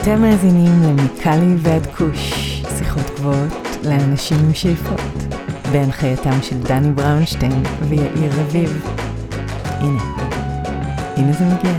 אתם מאזינים למיקלי ועד כוש, שיחות גבוהות לאנשים עם שאיפות, בהנחייתם של דני בראונשטיין ויאיר רביב. הנה זה מגיע.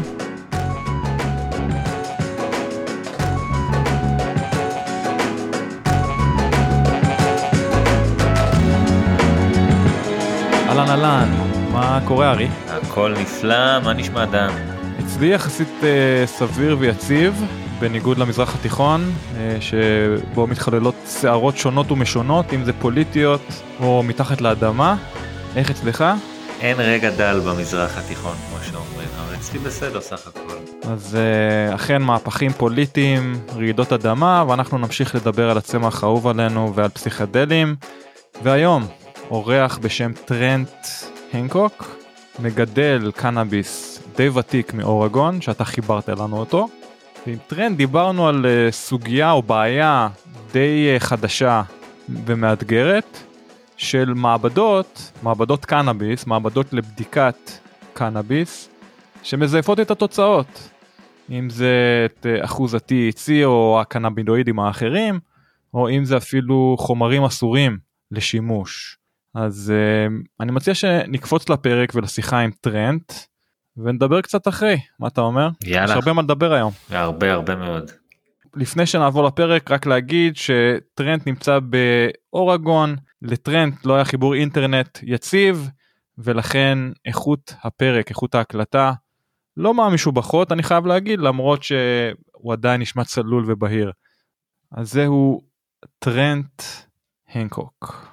אהלן, מה קורה ארי? הכל נפלא, מה נשמע דן? אצלי יחסית סביר ויציב, בניגוד למזרח התיכון, שבו מתחוללות שערות שונות ומשונות, אם זה פוליטיות או מתחת לאדמה. איך אצלך? אין רגע דל במזרח התיכון, כמו שאומרים, אבל אצלי בסדר סך הכל. אז אכן מהפכים פוליטיים, רעידות אדמה, ואנחנו נמשיך לדבר על הצמח האהוב עלינו ועל פסיכדלים. והיום, אורח בשם טרנט הנקוק, מגדל קנאביס די ותיק מאורגון, שאתה חיברת לנו אותו. ועם טרנט דיברנו על סוגיה או בעיה די חדשה ומאתגרת, של מעבדות קנאביס, מעבדות לבדיקת קנאביס, שמזייפות את התוצאות. אם זה את אחוז ה-THC או הקנאבינואידים האחרים, או אם זה אפילו חומרים אסורים לשימוש. אז אני מציע שנקפוץ לפרק ולשיחה עם טרנט, ונדבר קצת אחרי, מה אתה אומר? יאללה. יש הרבה מה לדבר היום. הרבה מאוד. לפני שנעבור לפרק, רק להגיד שטרנט נמצא באורגון, לטרנט לא היה חיבור אינטרנט יציב, ולכן איכות הפרק, איכות ההקלטה, לא מהמשובחות, אני חייב להגיד, למרות שהוא עדיין נשמע צלול ובהיר. אז זהו טרנט הנקוק.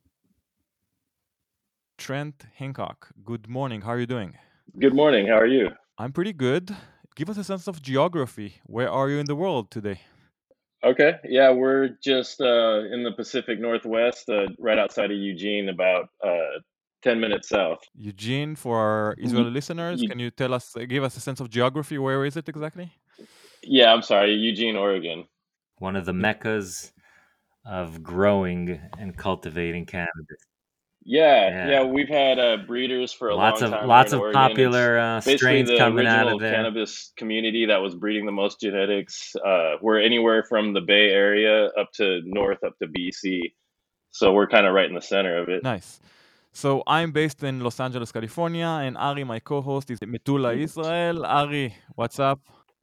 Trent Hancock, good morning, how are you doing? Good morning, how are you? I'm pretty good. Give us a sense of geography. Where are you in the world today? Okay, yeah, we're just in the Pacific Northwest, right outside of Eugene, about 10 minutes south. Eugene, for our Israeli listeners, can you give us a sense of geography? Where is it exactly? Yeah, I'm sorry, Eugene, Oregon. One of the meccas of growing and cultivating cannabis. Yeah, we've had breeders for a long time. Lots in of Oregon. popular strains coming out of there. Basically, the original cannabis community that was breeding the most genetics were anywhere from the Bay Area up to BC. So we're kind of right in the center of it. Nice. So I'm based in Los Angeles, California, and Ari, my co-host, is in Metula, Israel. Ari, what's up?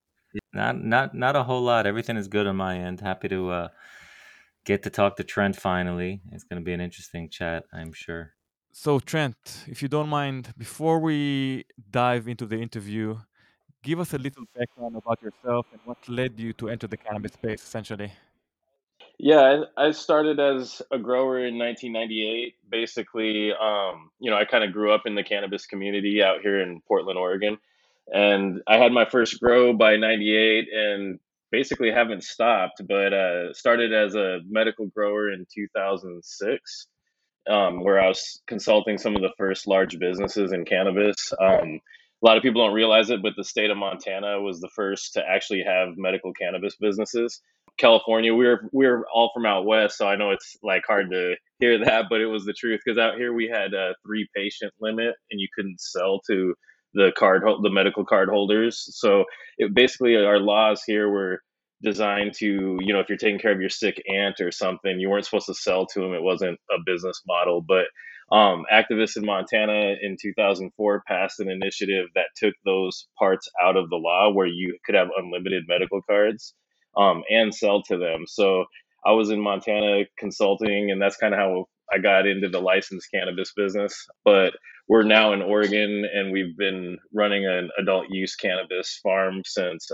Not a whole lot. Everything is good on my end. Happy to get to talk to Trent finally. It's going to be an interesting chat, I'm sure. So Trent, if you don't mind, before we dive into the interview, give us a little background about yourself and what led you to enter the cannabis space, essentially. Yeah, I started as a grower in 1998. Basically, I kind of grew up in the cannabis community out here in Portland, Oregon. And I had my first grow by 98 and basically haven't stopped, but started as a medical grower in 2006, where I was consulting some of the first large businesses in cannabis. A lot of people don't realize it, but the state of Montana was the first to actually have medical cannabis businesses. California, we're all from out west, so I know it's like hard to hear that, but it was the truth, because out here we had a 3 patient limit and you couldn't sell to the medical card holders. So basically our laws here were designed to, if you're taking care of your sick aunt or something, you weren't supposed to sell to them. It wasn't a business model. But activists in Montana in 2004 passed an initiative that took those parts out of the law, where you could have unlimited medical cards and sell to them. So I was in Montana consulting, and that's kind of how I got into the licensed cannabis business. But we're now in Oregon, and we've been running an adult use cannabis farm since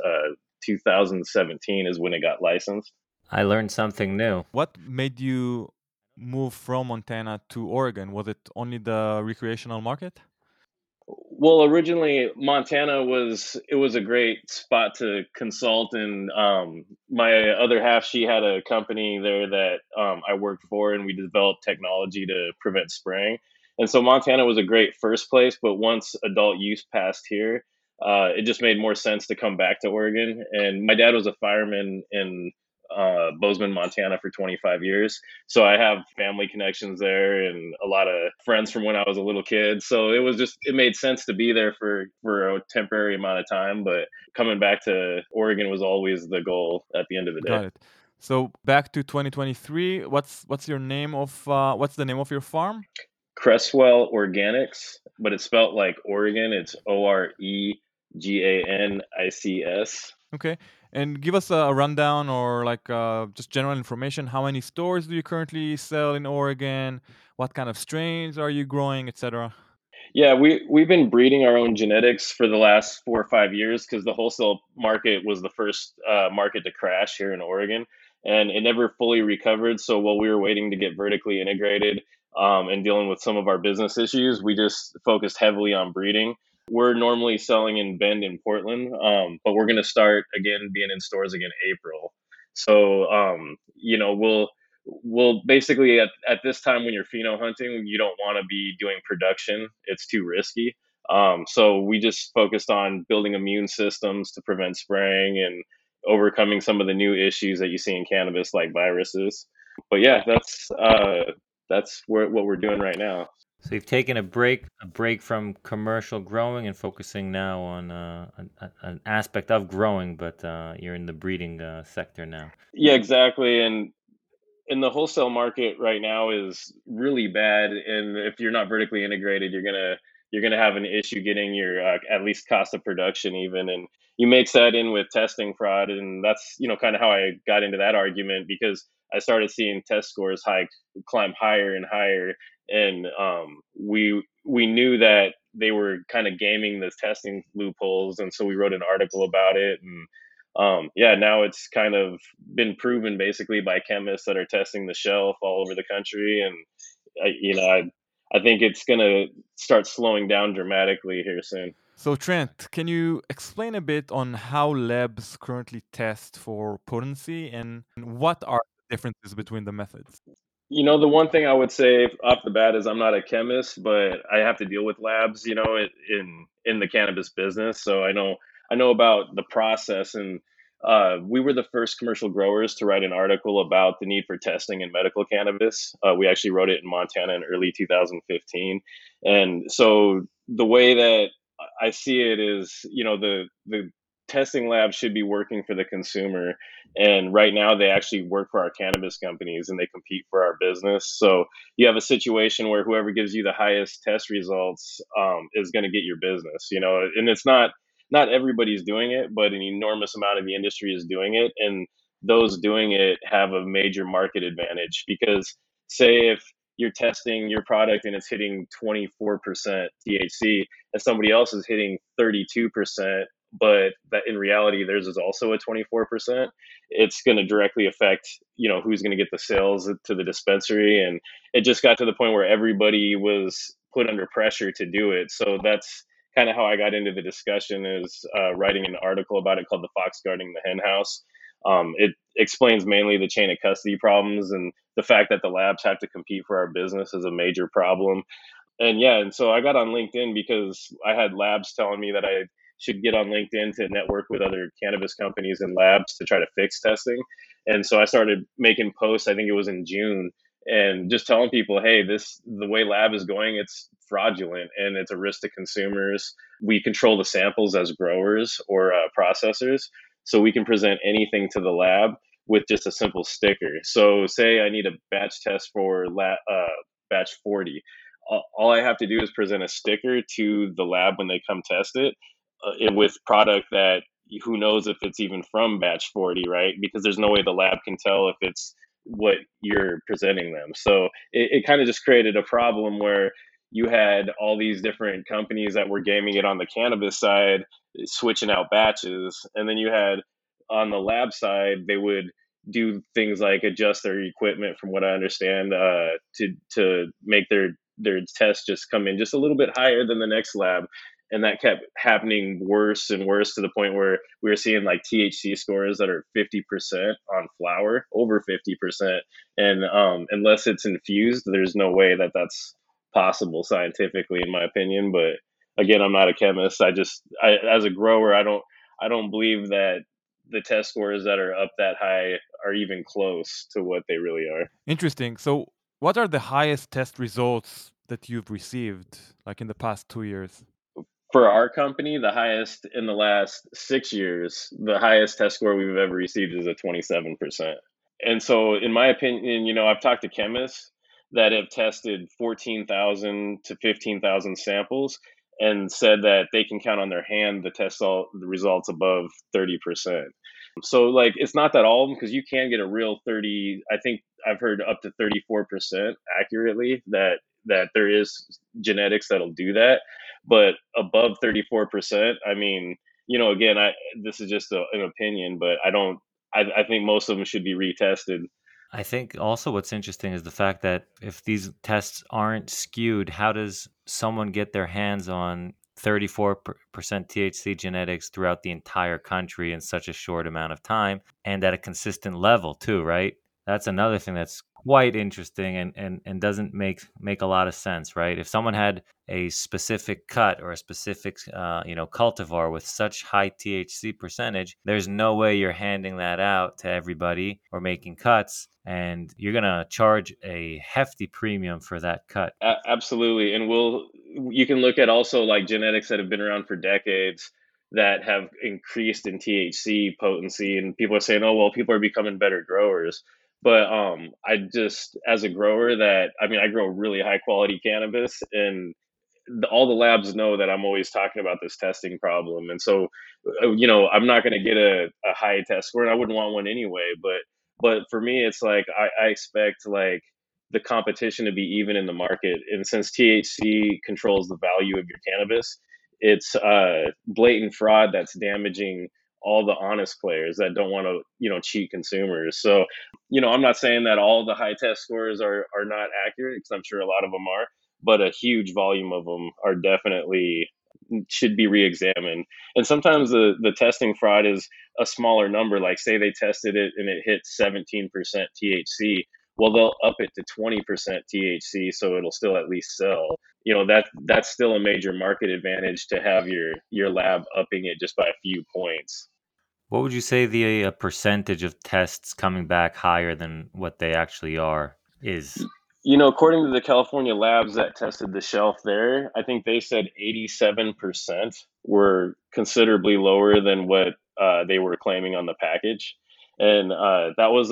2017 is when it got licensed. I learned something new. What made you move from Montana to Oregon? Was it only the recreational market? Well, originally Montana was a great spot to consult, and my other half, she had a company there that I worked for, and we developed technology to prevent spraying. And so Montana was a great first place, but once adult use passed here, it just made more sense to come back to Oregon. And my dad was a fireman in Bozeman, Montana for 25 years. So I have family connections there and a lot of friends from when I was a little kid. So it made sense to be there for a temporary amount of time. But coming back to Oregon was always the goal at the end of the day. Got it. So back to 2023, what's the name of your farm? Cresswell Organics, but it's spelled like Oregon. It's Oreganics. Okay. And give us a rundown or like just general information. How many stores do you currently sell in Oregon? What kind of strains are you growing, etc.? Yeah, we've been breeding our own genetics for the last 4 or 5 years because the wholesale market was the first market to crash here in Oregon, and it never fully recovered. So while we were waiting to get vertically integrated and dealing with some of our business issues, we just focused heavily on breeding. We're normally selling in Bend in Portland, but we're going to start again being in stores again April. So we'll basically at this time when you're pheno hunting, you don't want to be doing production. It's too risky. So we just focused on building immune systems to prevent spraying and overcoming some of the new issues that you see in cannabis like viruses. But yeah, that's what we're doing right now. So you've taken a break from commercial growing and focusing now on an aspect of growing, but you're in the breeding sector now. Yeah, exactly. And the wholesale market right now is really bad, and if you're not vertically integrated, you're gonna have an issue getting your at least cost of production even, and you mix that in with testing fraud, and that's kind of how I got into that argument because I started seeing test scores climb higher and higher, and we knew that they were kind of gaming the testing loopholes, and so we wrote an article about it, and yeah, now it's kind of been proven basically by chemists that are testing the shelf all over the country, and I think it's gonna start slowing down dramatically here soon. So Trent, can you explain a bit on how labs currently test for potency and what are the differences between the methods? The one thing I would say off the bat is I'm not a chemist, but I have to deal with labs, in the cannabis business. So I know about the process, and we were the first commercial growers to write an article about the need for testing in medical cannabis. We actually wrote it in Montana in early 2015, and so the way that I see it is, the testing lab should be working for the consumer, and right now they actually work for our cannabis companies and they compete for our business. So you have a situation where whoever gives you the highest test results is going to get your business, and it's not everybody's doing it, but an enormous amount of the industry is doing it, and those doing it have a major market advantage because say if you're testing your product and it's hitting 24% THC and somebody else is hitting 32%, but that in reality theirs is also a 24%, it's going to directly affect who's going to get the sales to the dispensary, and it just got to the point where everybody was put under pressure to do it. So that's kind of how I got into the discussion, is writing an article about it called "The Fox Guarding the Hen House." It explains mainly the chain of custody problems and the fact that the labs have to compete for our business is a major problem. And yeah, and so I got on LinkedIn because I had labs telling me that I should get on LinkedIn to network with other cannabis companies and labs to try to fix testing. And so I started making posts, I think it was in June, and just telling people, hey, the way lab is going, it's fraudulent and it's a risk to consumers. We control the samples as growers or processors, so we can present anything to the lab with just a simple sticker. So say I need a batch test for batch 40. All I have to do is present a sticker to the lab when they come test it, with product that who knows if it's even from batch 40, right? Because there's no way the lab can tell if it's what you're presenting them. So it kind of just created a problem where you had all these different companies that were gaming it on the cannabis side, switching out batches. And then you had on the lab side, they would do things like adjust their equipment, from what I understand, to make their tests just come in just a little bit higher than the next lab. And that kept happening worse and worse to the point where we were seeing like THC scores that are 50% on flower, over 50%. And unless it's infused, there's no way that that's possible scientifically, in my opinion. But again, I'm not a chemist. As a grower, I don't believe that the test scores that are up that high are even close to what they really are. Interesting. So, what are the highest test results that you've received, like in the past 2 years? For our company, the highest in the last 6 years, the highest test score we've ever received is a 27%. And so, in my opinion, I've talked to chemists that have tested 14,000 to 15,000 samples and said that they can count on their hand the results above 30%. So, like, it's not that all of them, because you can get a real 30. I think I've heard up to 34% accurately that there is genetics that'll do that, but above 34%, I mean, again, this is just an opinion, but I think most of them should be retested. I think also what's interesting is the fact that if these tests aren't skewed, how does someone get their hands on 34% THC genetics throughout the entire country in such a short amount of time and at a consistent level too, right? That's another thing that's quite interesting and doesn't make a lot of sense, right? If someone had a specific cut or a specific cultivar with such high THC percentage, there's no way you're handing that out to everybody or making cuts, and you're gonna charge a hefty premium for that cut. Absolutely. And you can look at also like genetics that have been around for decades that have increased in THC potency, and people are saying, oh, well, people are becoming better growers. But I just, as a grower, I grow really high quality cannabis, and all the labs know that I'm always talking about this testing problem. And so, I'm not going to get a high test score, and I wouldn't want one anyway. But for me, it's like I expect like the competition to be even in the market. And since THC controls the value of your cannabis, it's blatant fraud that's damaging all the honest players that don't want to, cheat consumers. So, I'm not saying that all the high test scores are not accurate, because I'm sure a lot of them are, but a huge volume of them are definitely should be re-examined. And sometimes the testing fraud is a smaller number. Like, say they tested it and it hit 17% THC. Well, they'll up it to 20% THC, so it'll still at least sell. That's still a major market advantage to have your lab upping it just by a few points. What would you say the percentage of tests coming back higher than what they actually are is? According to the California labs that tested the shelf there, I think they said 87% were considerably lower than what they were claiming on the package. And that was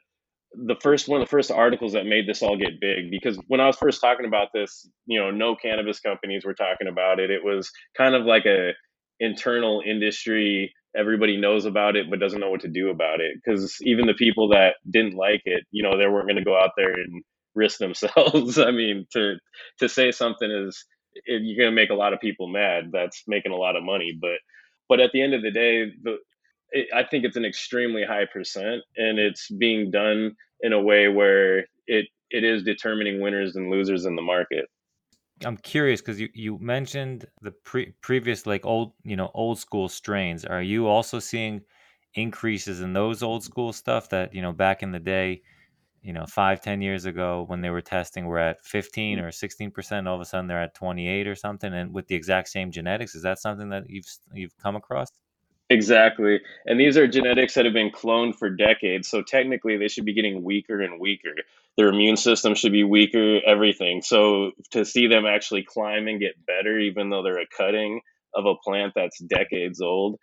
one of the first articles that made this all get big, because when I was first talking about this, no cannabis companies were talking about it. It was kind of like a internal industry. Everybody knows about it, but doesn't know what to do about it. Because even the people that didn't like it, they weren't going to go out there and risk themselves. I mean, to say something is, you're going to make a lot of people mad. That's making a lot of money, but at the end of the day, I think it's an extremely high percent, and it's being done in a way where it is determining winners and losers in the market. I'm curious because you mentioned the previous like old school strains. Are you also seeing increases in those old school stuff that back in the day, 5-10 years ago when they were testing were at 15 or 16%, all of a sudden they're at 28 or something, and with the exact same genetics? Is that something that you've come across? Exactly. And these are genetics that have been cloned for decades. So technically, they should be getting weaker and weaker. Their immune system should be weaker, everything. So to see them actually climb and get better, even though they're a cutting of a plant that's decades old,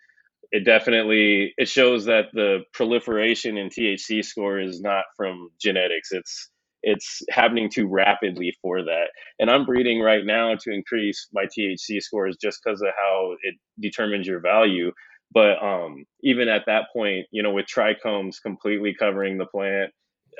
it shows that the proliferation in THC score is not from genetics. It's happening too rapidly for that. And I'm breeding right now to increase my THC scores just because of how it determines your value. But even at that point, with trichomes completely covering the plant,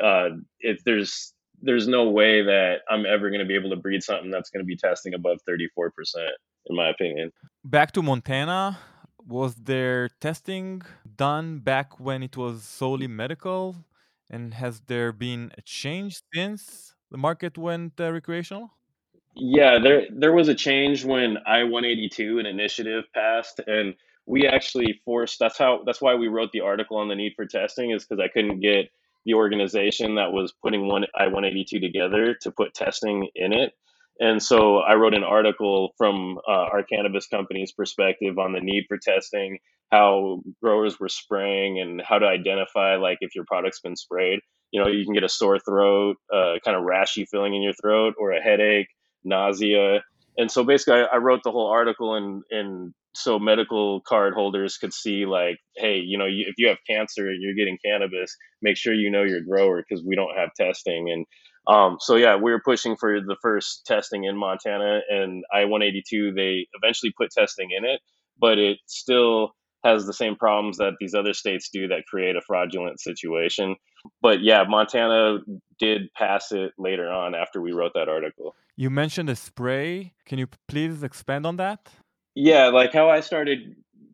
there's no way that I'm ever going to be able to breed something that's going to be testing above 34%, in my opinion. Back to Montana, was there testing done back when it was solely medical? And has there been a change since the market went recreational? Yeah, there was a change when I-182, an initiative, passed, and we actually forced. That's why we wrote the article on the need for testing, is because I couldn't get the organization that was putting I-182 together to put testing in it. And so I wrote an article from our cannabis company's perspective on the need for testing, how growers were spraying and how to identify like if your product's been sprayed. You can get a sore throat, kind of rashy feeling in your throat, or a headache, nausea. And so basically, I wrote the whole article, and so medical card holders could see like, hey, if you have cancer and you're getting cannabis, make sure you know your grower because we don't have testing. And so yeah, we were pushing for the first testing in Montana, and I-182, they eventually put testing in it, but it still has the same problems that these other states do that create a fraudulent situation. But yeah, Montana did pass it later on after we wrote that article. You mentioned a spray. Can you please expand on that? Yeah, like how I started,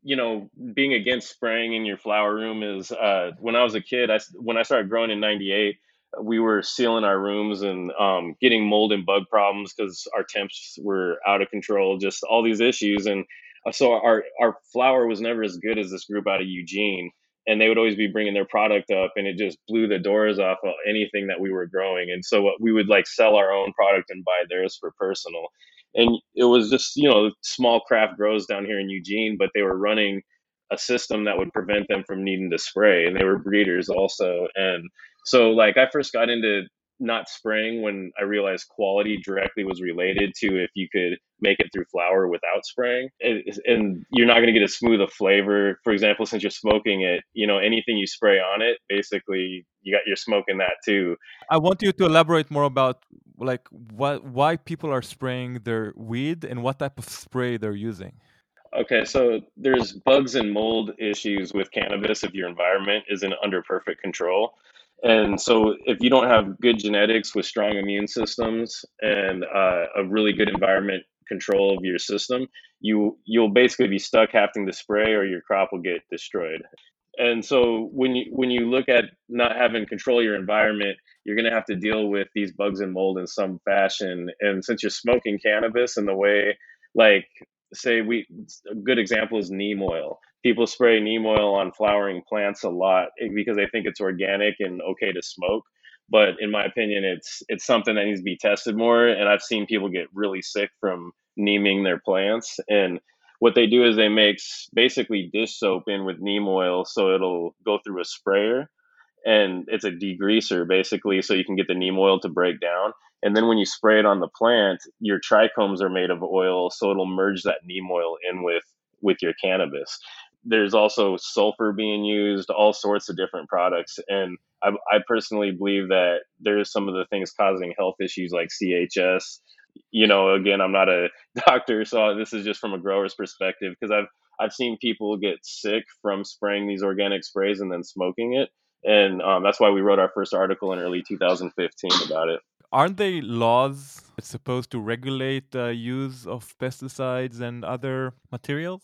being against spraying in your flower room is when I was a kid. When I started growing in '98, we were sealing our rooms and getting mold and bug problems because our temps were out of control. Just all these issues, and so our flower was never as good as this group out of Eugene. And they would always be bringing their product up, and it just blew the doors off of anything that we were growing. And so we would like sell our own product and buy theirs for personal. And it was just small craft grows down here in Eugene, but they were running a system that would prevent them from needing to spray, and they were breeders also. And so like I first got into not spraying when I realized quality directly was related to if you could make it through flower without spraying. And you're not going to get as smooth a flavor. For example, since you're smoking it, anything you spray on it, basically you're smoking that too. I want you to elaborate more about like why people are spraying their weed and what type of spray they're using. Okay, so there's bugs and mold issues with cannabis if your environment isn't under perfect control. And so if you don't have good genetics with strong immune systems and a really good environment control of your system, you'll basically be stuck having to spray or your crop will get destroyed. And so when you look at not having control of your environment, you're going to have to deal with these bugs and mold in some fashion. And since you're smoking cannabis in the way, like say a good example is neem oil. People spray neem oil on flowering plants a lot because they think it's organic and okay to smoke. But in my opinion, it's something that needs to be tested more. And I've seen people get really sick from neeming their plants. And what they do is they mix basically dish soap in with neem oil so it'll go through a sprayer, and it's a degreaser basically so you can get the neem oil to break down. And then when you spray it on the plant, your trichomes are made of oil so it'll merge that neem oil in with your cannabis. There's also sulfur being used, all sorts of different products. And I personally believe that there's some of the things causing health issues like CHS. Again, I'm not a doctor, so this is just from a grower's perspective because I've seen people get sick from spraying these organic sprays and then smoking it. And that's why we wrote our first article in early 2015 about it. Aren't they laws that's supposed to regulate the use of pesticides and other materials?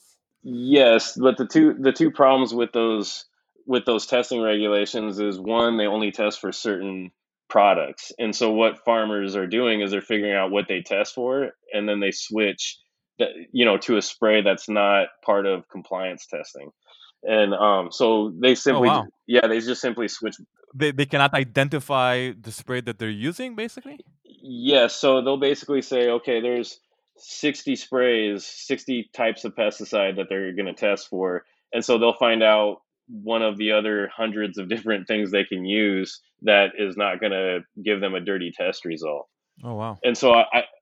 Yes, but the two problems with those testing regulations is one, they only test for certain products. And so what farmers are doing is they're figuring out what they test for, and then they switch to a spray that's not part of compliance testing. And so they Oh, simply, wow. yeah, they just simply switch. They cannot identify the spray that they're using, basically? Yes, so they'll basically say, okay, there's 60 sprays, 60 types of pesticide that they're going to test for. And so they'll find out one of the other hundreds of different things they can use that is not going to give them a dirty test result. Oh, wow. And so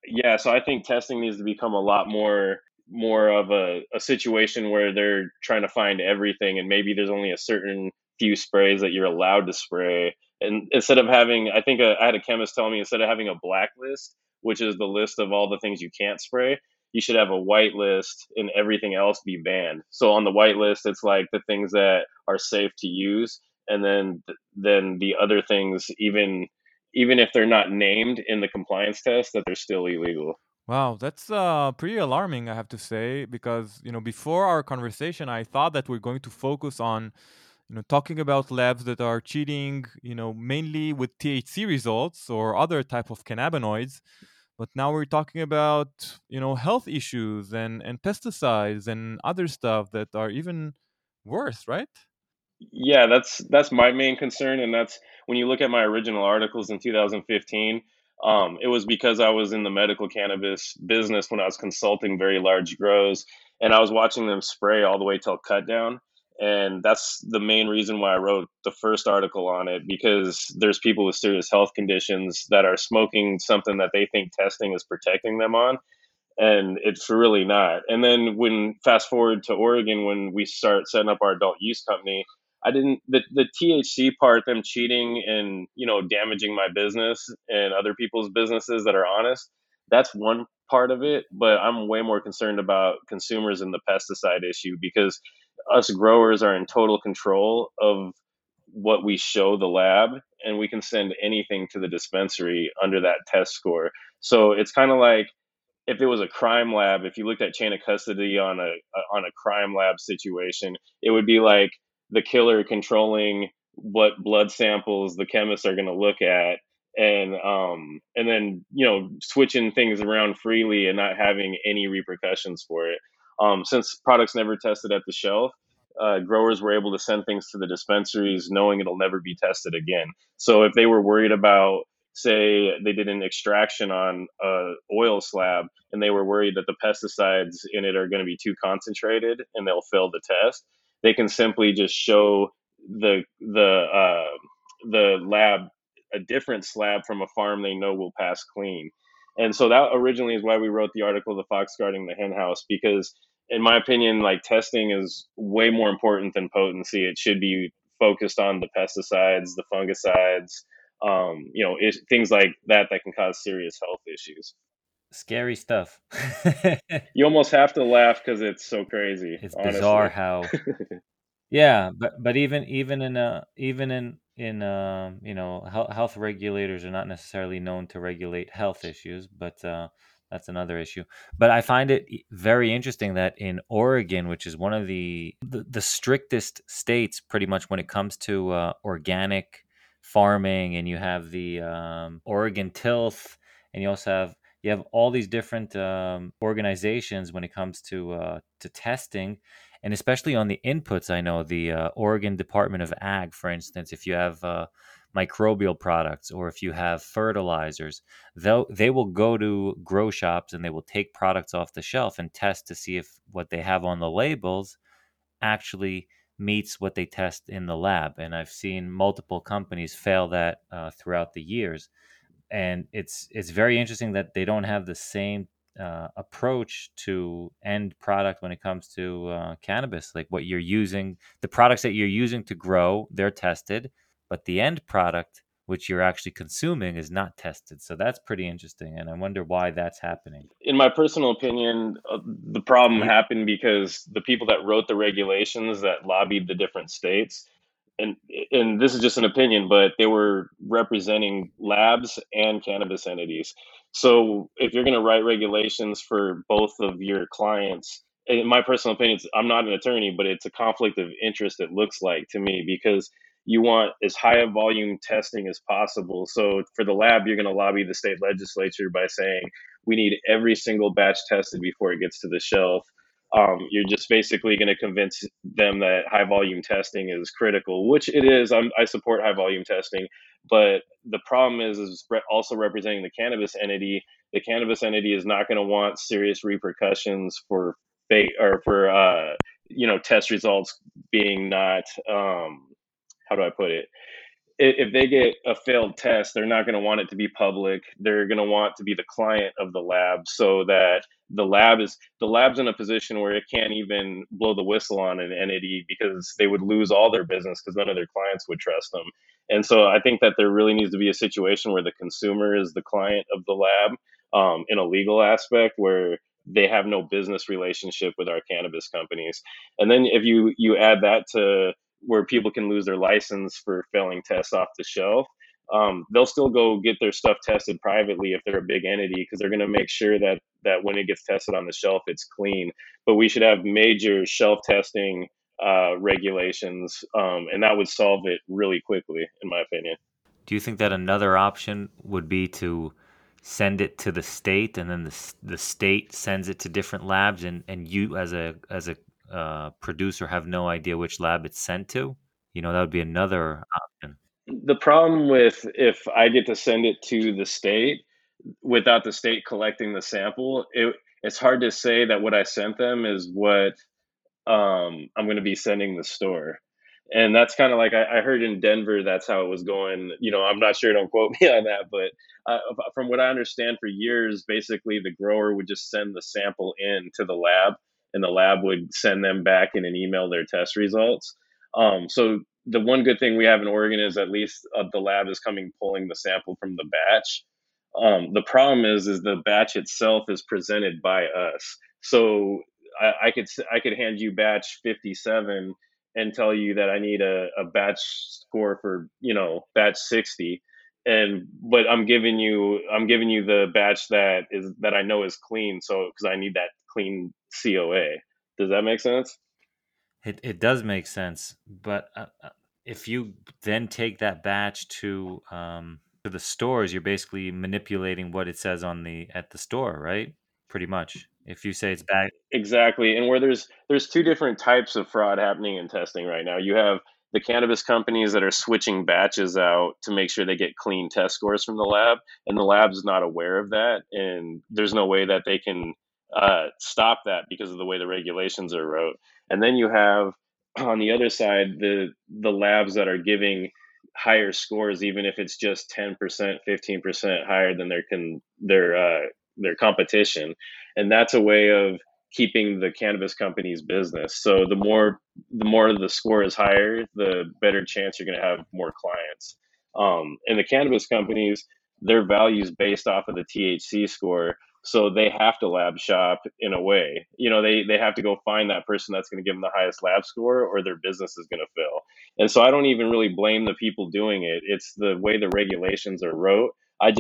I think testing needs to become a lot more of a situation where they're trying to find everything, and maybe there's only a certain few sprays that you're allowed to spray. And instead of having, I think I had a chemist tell me, instead of having a blacklist, which is the list of all the things you can't spray, you should have a white list and everything else be banned. So on the white list, it's like the things that are safe to use, and then the other things, even if they're not named in the compliance test, that they're still illegal. Wow, that's pretty alarming, I have to say, because before our conversation, I thought that we're going to focus on talking about labs that are cheating, mainly with THC results or other type of cannabinoids. But now we're talking about health issues and pesticides and other stuff that are even worse, right? Yeah, that's my main concern, and that's when you look at my original articles in 2015. It was because I was in the medical cannabis business when I was consulting very large grows, and I was watching them spray all the way till cut down. And that's the main reason why I wrote the first article on it, because there's people with serious health conditions that are smoking something that they think testing is protecting them on, and it's really not. And then when fast forward to Oregon, when we start setting up our adult use company, I didn't the THC part, them cheating and damaging my business and other people's businesses that are honest. That's one part of it, but I'm way more concerned about consumers and the pesticide issue, because us growers are in total control of what we show the lab, and we can send anything to the dispensary under that test score. So it's kind of like if it was a crime lab, if you looked at chain of custody on a crime lab situation, it would be like the killer controlling what blood samples the chemists are going to look at, and then switching things around freely and not having any repercussions for it. Since products never tested at the shelf, growers were able to send things to the dispensaries knowing it'll never be tested again. So if they were worried about, say they did an extraction on a oil slab and they were worried that the pesticides in it are going to be too concentrated and they'll fail the test, they can simply just show the lab a different slab from a farm they know will pass clean. And so that originally is why we wrote the article, "The Fox Guarding the Hen House," because in my opinion, like, testing is way more important than potency. It should be focused on the pesticides, the fungicides, things like that can cause serious health issues. Scary stuff. You almost have to laugh because it's so crazy. It's honestly. bizarre how, yeah, but even in health regulators are not necessarily known to regulate health issues, but that's another issue. But I find it very interesting that in Oregon, which is one of the strictest states pretty much when it comes to organic farming, and you have the Oregon Tilth, and you have all these different organizations when it comes to testing, and especially on the inputs. I know the Oregon Department of Ag, for instance, if you have microbial products or if you have fertilizers, they will go to grow shops and they will take products off the shelf and test to see if what they have on the labels actually meets what they test in the lab. And I've seen multiple companies fail that throughout the years. And it's very interesting that they don't have the same approach to end product when it comes to cannabis. Like what you're using, the products that you're using to grow, they're tested, but the end product, which you're actually consuming, is not tested. So that's pretty interesting, and I wonder why that's happening. In my personal opinion, the problem You, happened because the people that wrote the regulations that lobbied the different states, and this is just an opinion, but they were representing labs and cannabis entities. So if you're going to write regulations for both of your clients, in my personal opinion, I'm not an attorney, but it's a conflict of interest, it looks like to me, because you want as high a volume testing as possible. So for the lab, you're going to lobby the state legislature by saying we need every single batch tested before it gets to the shelf. You're just basically going to convince them that high volume testing is critical, which it is. I support high volume testing, but the problem is also representing the cannabis entity. The cannabis entity is not going to want serious repercussions for fake or for test results being not how do I put it? If they get a failed test, they're not going to want it to be public. They're going to want to be the client of the lab, so that the lab's in a position where it can't even blow the whistle on an entity, because they would lose all their business because none of their clients would trust them. And so I think that there really needs to be a situation where the consumer is the client of the lab, in a legal aspect, where they have no business relationship with our cannabis companies. And then if you add that to where people can lose their license for failing tests off the shelf, they'll still go get their stuff tested privately if they're a big entity, because they're going to make sure that when it gets tested on the shelf, it's clean. But we should have major shelf testing regulations, and that would solve it really quickly, in my opinion. do you think that another option would be to send it to the state, and then the state sends it to different labs, and you as a producer have no idea which lab it's sent to? That would be another option. The problem with if I get to send it to the state without the state collecting the sample, it's hard to say that what I sent them is what I'm going to be sending the store. And that's kind of like I heard in Denver, that's how it was going. I'm not sure, don't quote me on that, but from what I understand, for years, basically the grower would just send the sample in to the lab, and the lab would send them back in an email their test results. So the one good thing we have in Oregon is at least the lab is coming pulling the sample from the batch. The problem is the batch itself is presented by us. So I could hand you batch 57 and tell you that I need a batch score for batch 60, but I'm giving you the batch that I know is clean, so because I need that clean COA. Does that make sense? It does make sense, but if you then take that batch to the stores, you're basically manipulating what it says at the store, right? Pretty much. If you say it's bad, Exactly. And where there's two different types of fraud happening in testing right now. You have the cannabis companies that are switching batches out to make sure they get clean test scores from the lab, and the lab's not aware of that, and there's no way that they can stop that because of the way the regulations are wrote. And then you have on the other side the labs that are giving higher scores, even if it's just 10%, 15% higher than their competition, and that's a way of keeping the cannabis company's business. So the more the score is higher, the better chance you're going to have more clients. And the cannabis companies, their value is based off of the THC score. So they have to lab shop in a way. They have to go find that person that's going to give them the highest lab score, or their business is going to fail. And so I don't even really blame the people doing it. It's the way the regulations are wrote.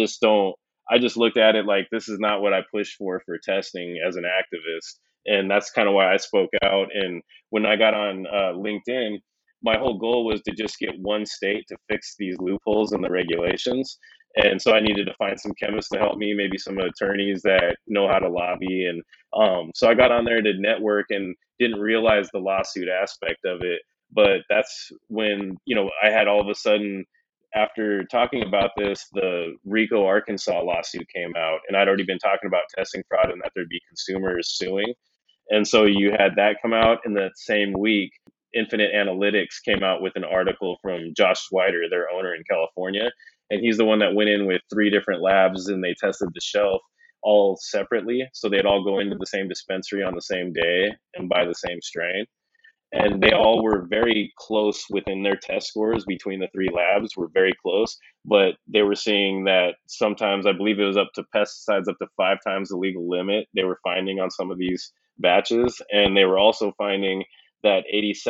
I just looked at it like this is not what I push for testing as an activist, and that's kind of why I spoke out. And when I got on LinkedIn, my whole goal was to just get one state to fix these loopholes in the regulations. And so I needed to find some chemists to help me, maybe some attorneys that know how to lobby. And so I got on there to network and didn't realize the lawsuit aspect of it. But that's when, I had all of a sudden, after talking about this, the Rico, Arkansas lawsuit came out, and I'd already been talking about testing fraud and that there'd be consumers suing. And so you had that come out in that same week. Infinite Analytics came out with an article from Josh Swider, their owner in California. And he's the one that went in with 3 different labs and they tested the shelf all separately. So they'd all go into the same dispensary on the same day and buy the same strain, and they all were very close within their test scores. Between the 3 labs were very close, but they were seeing that sometimes, I believe it was up to pesticides up to 5 times the legal limit they were finding on some of these batches. And they were also finding that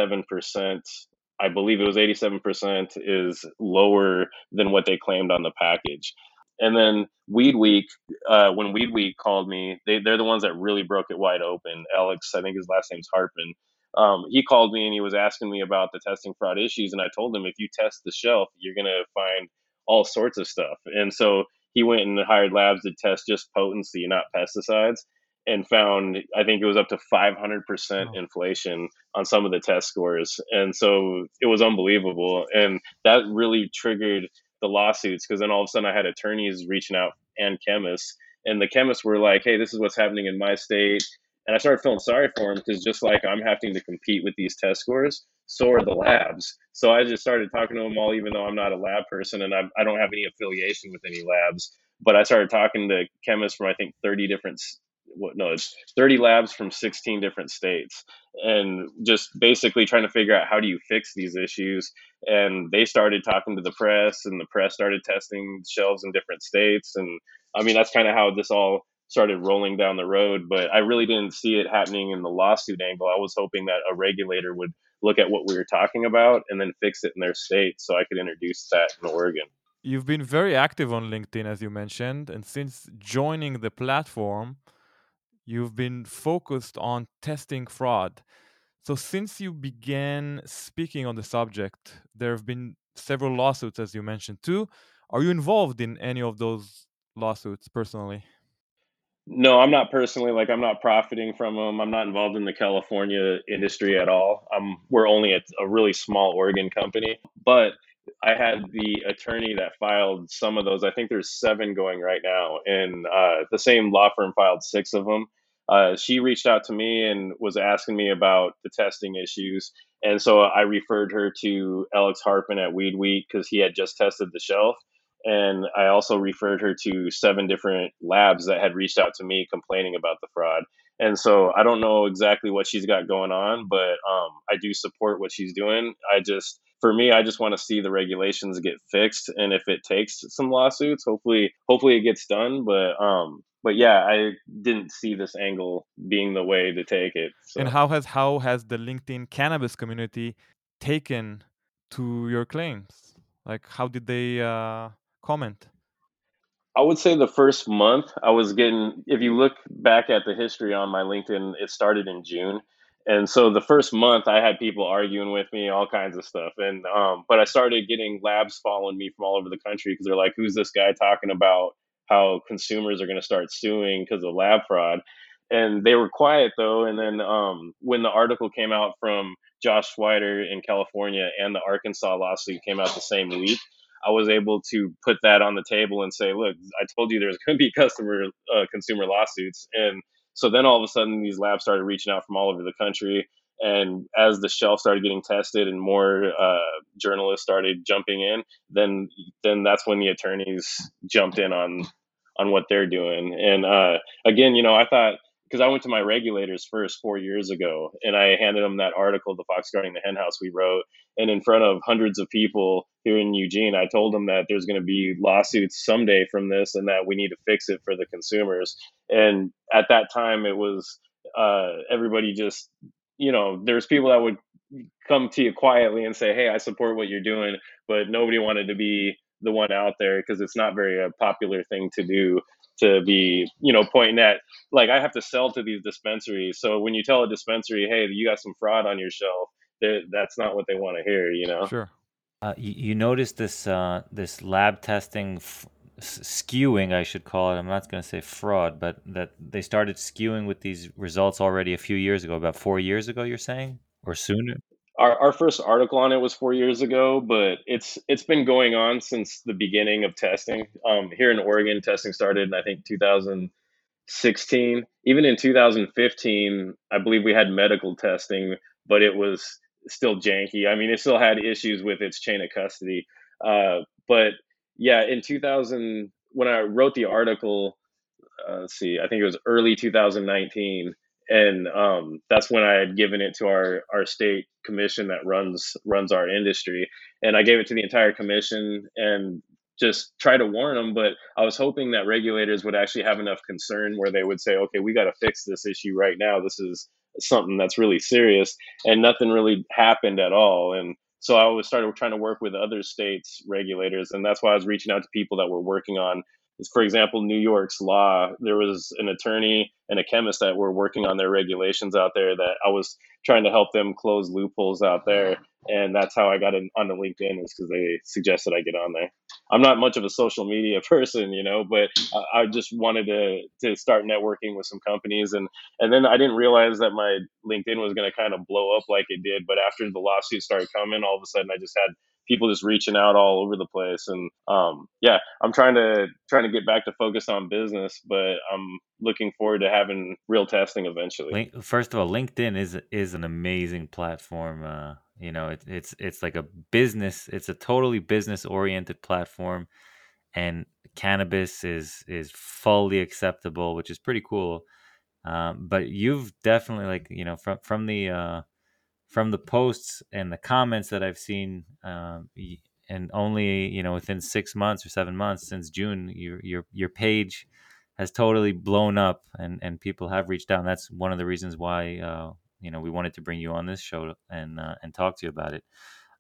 87%, I believe it was 87%, is lower than what they claimed on the package. And then Weed Week, when Weed Week called me, they're the ones that really broke it wide open. Alex, I think his last name's Harpin. He called me and he was asking me about the testing fraud issues, and I told him if you test the shelf, you're gonna find all sorts of stuff. And so he went and hired labs to test just potency, not pesticides, and found, I think it was up to 500% inflation on some of the test scores. And so it was unbelievable, and that really triggered the lawsuits, because then all of a sudden I had attorneys reaching out and chemists, and the chemists were like, "Hey, this is what's happening in my state." And I started feeling sorry for him, because just like I'm having to compete with these test scores, so are the labs. So I just started talking to them all, even though I'm not a lab person and I don't have any affiliation with any labs. But I started talking to chemists from, I think, 30 different, it's 30 labs from 16 different states, and just basically trying to figure out how do you fix these issues. And they started talking to the press, and the press started testing shelves in different states. And I mean, that's kind of how this all started rolling down the road. But I really didn't see it happening in the lawsuit angle. I was hoping that a regulator would look at what we were talking about and then fix it in their state so I could introduce that in Oregon. You've been very active on LinkedIn, as you mentioned, and since joining the platform, you've been focused on testing fraud. So since you began speaking on the subject, there have been several lawsuits, as you mentioned too. Are you involved in any of those lawsuits personally? No, I'm not personally, like, I'm not profiting from them. I'm not involved in the California industry at all. We're only a really small Oregon company, but I had the attorney that filed some of those. I think there's 7 going right now, and the same law firm filed 6 of them. she reached out to me and was asking me about the testing issues. And so I referred her to Alex Harpin at Weed Week because he had just tested the shelf. And I also referred her to 7 different labs that had reached out to me complaining about the fraud. And so I don't know exactly what she's got going on, but I do support what she's doing. For me, I just want to see the regulations get fixed, and if it takes some lawsuits, hopefully it gets done. But yeah, I didn't see this angle being the way to take it. And So how has the LinkedIn cannabis community taken to your claims? Like, how did they comment? I would say the first month I was getting, if you look back at the history on my LinkedIn, it started in June. And so the first month I had people arguing with me, all kinds of stuff. But I started getting labs following me from all over the country because they're like, who's this guy talking about how consumers are going to start suing because of lab fraud? And they were quiet though. And then when the article came out from Josh Schweider in California and the Arkansas lawsuit came out the same week, I was able to put that on the table and say, look, I told you there's going to be consumer lawsuits. And so then all of a sudden these labs started reaching out from all over the country. And as the shelf started getting tested and more journalists started jumping in, then that's when the attorneys jumped in on what they're doing. And again, I thought, because I went to my regulators first 4 years ago, and I handed them that article, "The Fox Guarding the Hen House," we wrote, and in front of hundreds of people here in Eugene, I told them that there's going to be lawsuits someday from this, and that we need to fix it for the consumers. And at that time, it was everybody just, there's people that would come to you quietly and say, "Hey, I support what you're doing," but nobody wanted to be the one out there because it's not very a popular thing to do, to be, pointing at, like, I have to sell to these dispensaries. So when you tell a dispensary, "Hey, you got some fraud on your shelf," that's not what they want to hear. Sure. You noticed this lab testing skewing, I should call it. I'm not going to say fraud, but that they started skewing with these results already a few years ago, about 4 years ago, you're saying, or sooner? Our first article on it was 4 years ago, but it's been going on since the beginning of testing. Here in Oregon, testing started in, I think, 2016. Even in 2015, I believe we had medical testing, but it was still janky. I mean, it still had issues with its chain of custody. But yeah, in 2000, when I wrote the article, let's see, I think it was early 2019, and that's when I had given it to our state commission that runs our industry, and I gave it to the entire commission and just try to warn them. But I was hoping that regulators would actually have enough concern where they would say, okay, we got to fix this issue right now. This is something that's really serious, and nothing really happened at all. And so I was started trying to work with other states regulators, and that's why I was reaching out to people that were working on, for example, New York's law. There was an attorney and a chemist that were working on their regulations out there that I was trying to help them close loopholes out there. And that's how I got onto LinkedIn, is because they suggested I get on there. I'm not much of a social media person, but I just wanted to start networking with some companies. And then I didn't realize that my LinkedIn was going to kind of blow up like it did. But after the lawsuit started coming, all of a sudden I just had people just reaching out all over the place. And yeah, I'm trying to get back to focus on business, but I'm looking forward to having real testing eventually. First of all, LinkedIn is an amazing platform. It's like a business. It's a totally business oriented platform, and cannabis is fully acceptable, which is pretty cool. But you've definitely, like, from the posts and the comments that I've seen, and only within 6 months or 7 months since June, your page has totally blown up, and people have reached out. And that's one of the reasons why we wanted to bring you on this show and talk to you about it.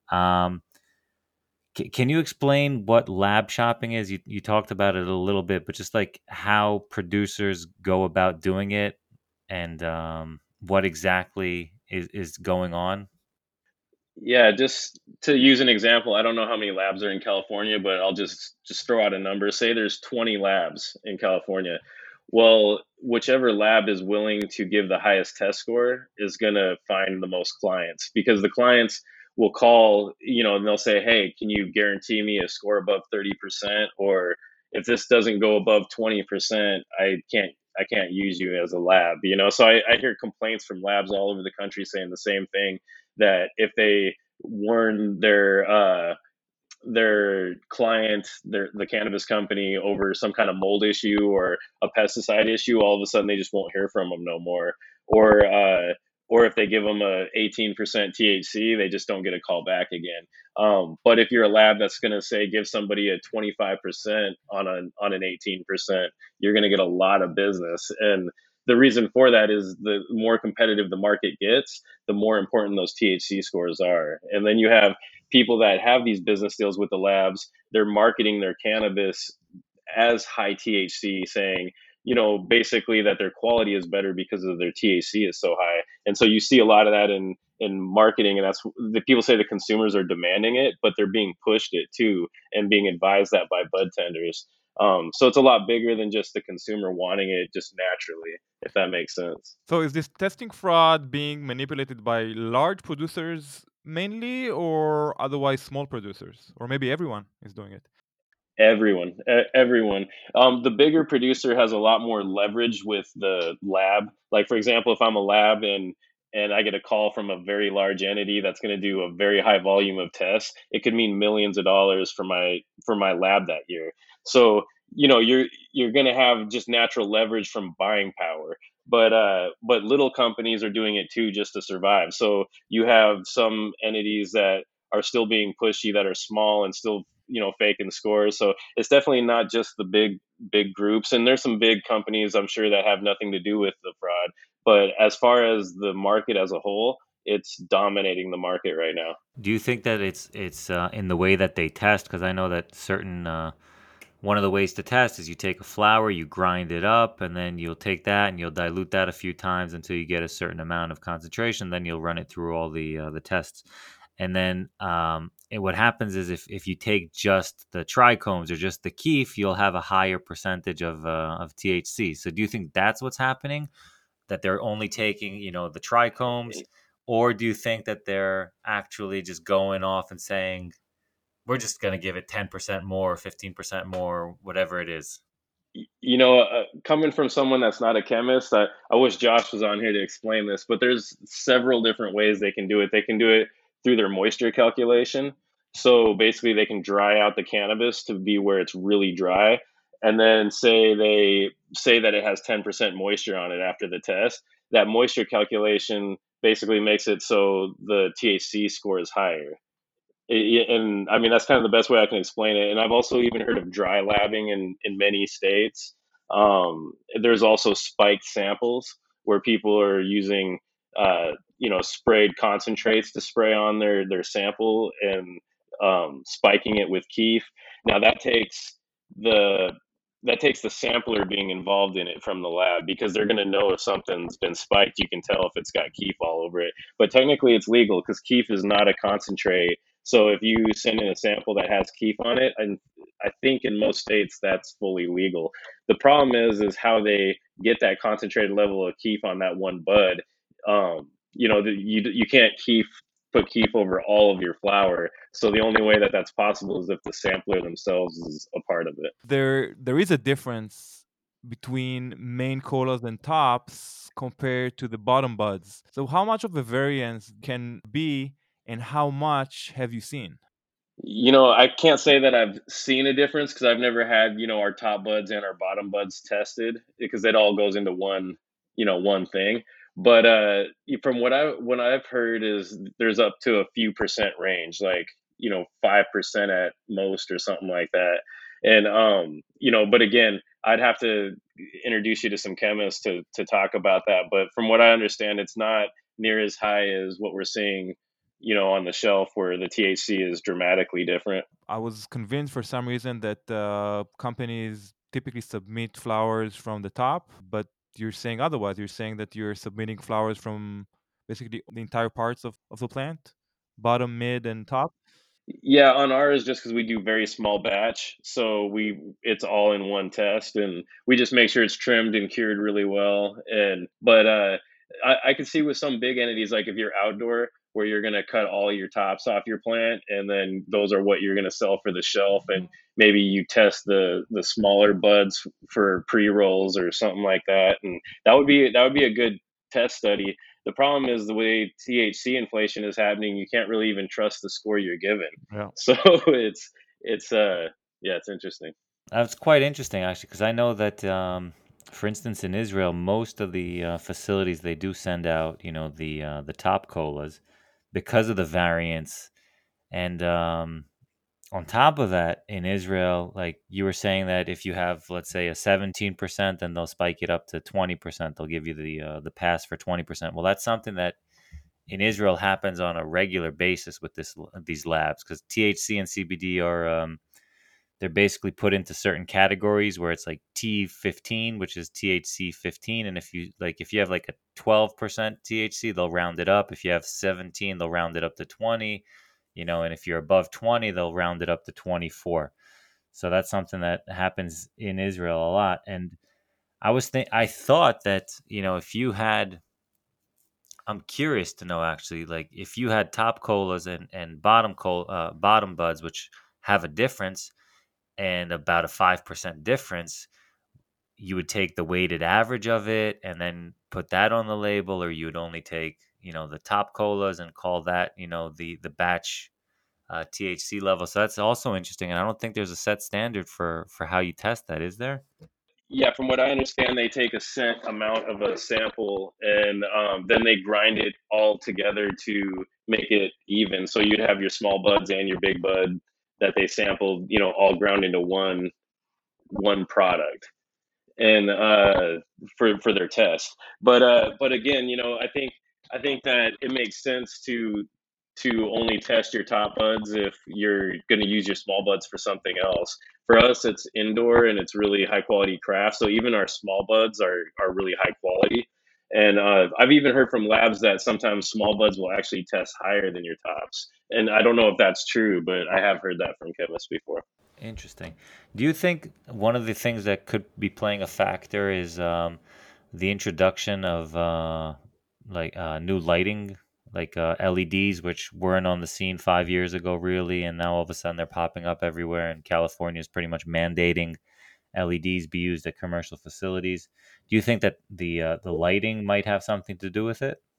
Can you explain what lab shopping is? You talked about it a little bit, but just like how producers go about doing it, and what exactly is going on? Yeah, just to use an example, I don't know how many labs are in California, but I'll just throw out a number. Say there's 20 labs in California. Well, whichever lab is willing to give the highest test score is going to find the most clients, because the clients will call, and they'll say, "Hey, can you guarantee me a score above 30%? Or if this doesn't go above 20%, I can't use you as a lab, you know. So I hear complaints from labs all over the country saying the same thing, that if they warn their client, the cannabis company, over some kind of mold issue or a pesticide issue, all of a sudden they just won't hear from them no more. Or if they give them a 18% THC, they just don't get a call back again. But if you're a lab that's going to say give somebody a 25% on an 18%, you're going to get a lot of business. And the reason for that is the more competitive the market gets, the more important those THC scores are. And then you have people that have these business deals with the labs, they're marketing their cannabis as high THC, saying, you know, basically that their quality is better because of their THC is so high. And so you see a lot of that in marketing, and that's the people say the consumers are demanding it, but they're being pushed it too, and being advised that by bud tenders. So it's a lot bigger than just the consumer wanting it just naturally, if that makes sense. So is this testing fraud being manipulated by large producers mainly, or otherwise small producers? Or maybe everyone is doing it? Everyone. The bigger producer has a lot more leverage with the lab. Like, for example, if I'm a lab and I get a call from a very large entity that's going to do a very high volume of tests, it could mean millions of dollars for my lab that year. So, you know, you're going to have just natural leverage from buying power. But little companies are doing it too, just to survive. So you have some entities that are still being pushy, that are small and still, you know, faking scores. So it's definitely not just the big groups, and there's some big companies I'm sure that have nothing to do with the fraud. But as far as the market as a whole, it's dominating the market right now. Do you think that it's in the way that they test? Because I know that certain one of the ways to test is you take a flower, you grind it up, and then you'll take that and you'll dilute that a few times until you get a certain amount of concentration. Then you'll run it through all the tests. And then what happens is if you take just the trichomes or just the keef, you'll have a higher percentage of THC. So do you think that's what's happening? That they're only taking, you know, the trichomes? Or do you think that they're actually just going off and saying, we're just going to give it 10% more, 15% more, whatever it is? You know, coming from someone that's not a chemist, I wish Josh was on here to explain this, but there's several different ways they can do it. They can do it through their moisture calculation. So basically, they can dry out the cannabis to be where it's really dry, and then say that it has 10% moisture on it after the test. That moisture calculation basically makes it so the THC score is higher. And I mean, that's kind of the best way I can explain it. And I've also even heard of dry labbing in many states. There's also spiked samples where people are using, you know, sprayed concentrates to spray on their sample, and spiking it with keef. Now the that takes the sampler being involved in it from the lab, because they're going to know if something's been spiked. You can tell if it's got keef all over it. But technically, it's legal because keef is not a concentrate. So if you send in a sample that has keef on it, and I think in most states that's fully legal. The problem is how they get that concentrated level of keef on that one bud. You know, you can't put keef over all of your flower. So the only way that that's possible is if the sampler themselves is a part of it. There is a difference between main colas and tops compared to the bottom buds. So how much of a variance can be, and how much have you seen? You know, I can't say that I've seen a difference because I've never had, you know, our top buds and our bottom buds tested, because it all goes into one, you know, one thing. But from what I've heard is there's up to a few percent range, like, you know, 5% at most or something like that. And you know, but again, I'd have to introduce you to some chemists to talk about that. But from what I understand, it's not near as high as what we're seeing, you know, on the shelf, where the THC is dramatically different. I was convinced for some reason that companies typically submit flowers from the top, but you're saying otherwise. You're saying that you're submitting flowers from basically the entire parts of the plant, bottom, mid, and top. Yeah, on ours, just because we do very small batch, so it's all in one test, and we just make sure it's trimmed and cured really well. And but I can see with some big entities, like if you're outdoor, where you're going to cut all your tops off your plant, and then those are what you're going to sell for the shelf. And maybe you test the smaller buds for pre-rolls or something like that, and that would be a good test study. The problem is the way THC inflation is happening, you can't really even trust the score you're given. Yeah. So it's yeah, it's interesting. That's quite interesting, actually, because I know that, for instance, in Israel, most of the facilities they do send out, the top colas because of the variants. And on top of that, in Israel, like you were saying, that if you have, let's say, a 17%, then they'll spike it up to 20%. They'll give you the pass for 20%. Well, that's something that in Israel happens on a regular basis with these labs, because THC and CBD are they're basically put into certain categories where it's like T15, which is THC 15, and if you have like a 12% THC, they'll round it up. If you have 17, they'll round it up to 20, and if you're above 20, they'll round it up to 24. So that's something that happens in Israel a lot. And I thought that, if you had, I'm curious to know, actually, like if you had top colas and bottom buds, which have a difference and about a 5% difference, you would take the weighted average of it and then put that on the label, or you would only take, the top colas and call that, the batch THC level. So that's also interesting. And I don't think there's a set standard for how you test that, is there? Yeah, from what I understand, they take a set amount of a sample, and then they grind it all together to make it even. So you'd have your small buds and your big bud that they sampled, all ground into one product, and for their test. But again, I think that it makes sense to only test your top buds if you're going to use your small buds for something else. For us, it's indoor and it's really high quality craft. So even our small buds are really high quality. And I've even heard from labs that sometimes small buds will actually test higher than your tops. And I don't know if that's true, but I have heard that from chemists before. Interesting. Do you think one of the things that could be playing a factor is the introduction of new lighting, like LEDs, which weren't on the scene 5 years ago, really, and now all of a sudden they're popping up everywhere, and California is pretty much mandating LEDs be used at commercial facilities. Do you think that the lighting might have something to do with it?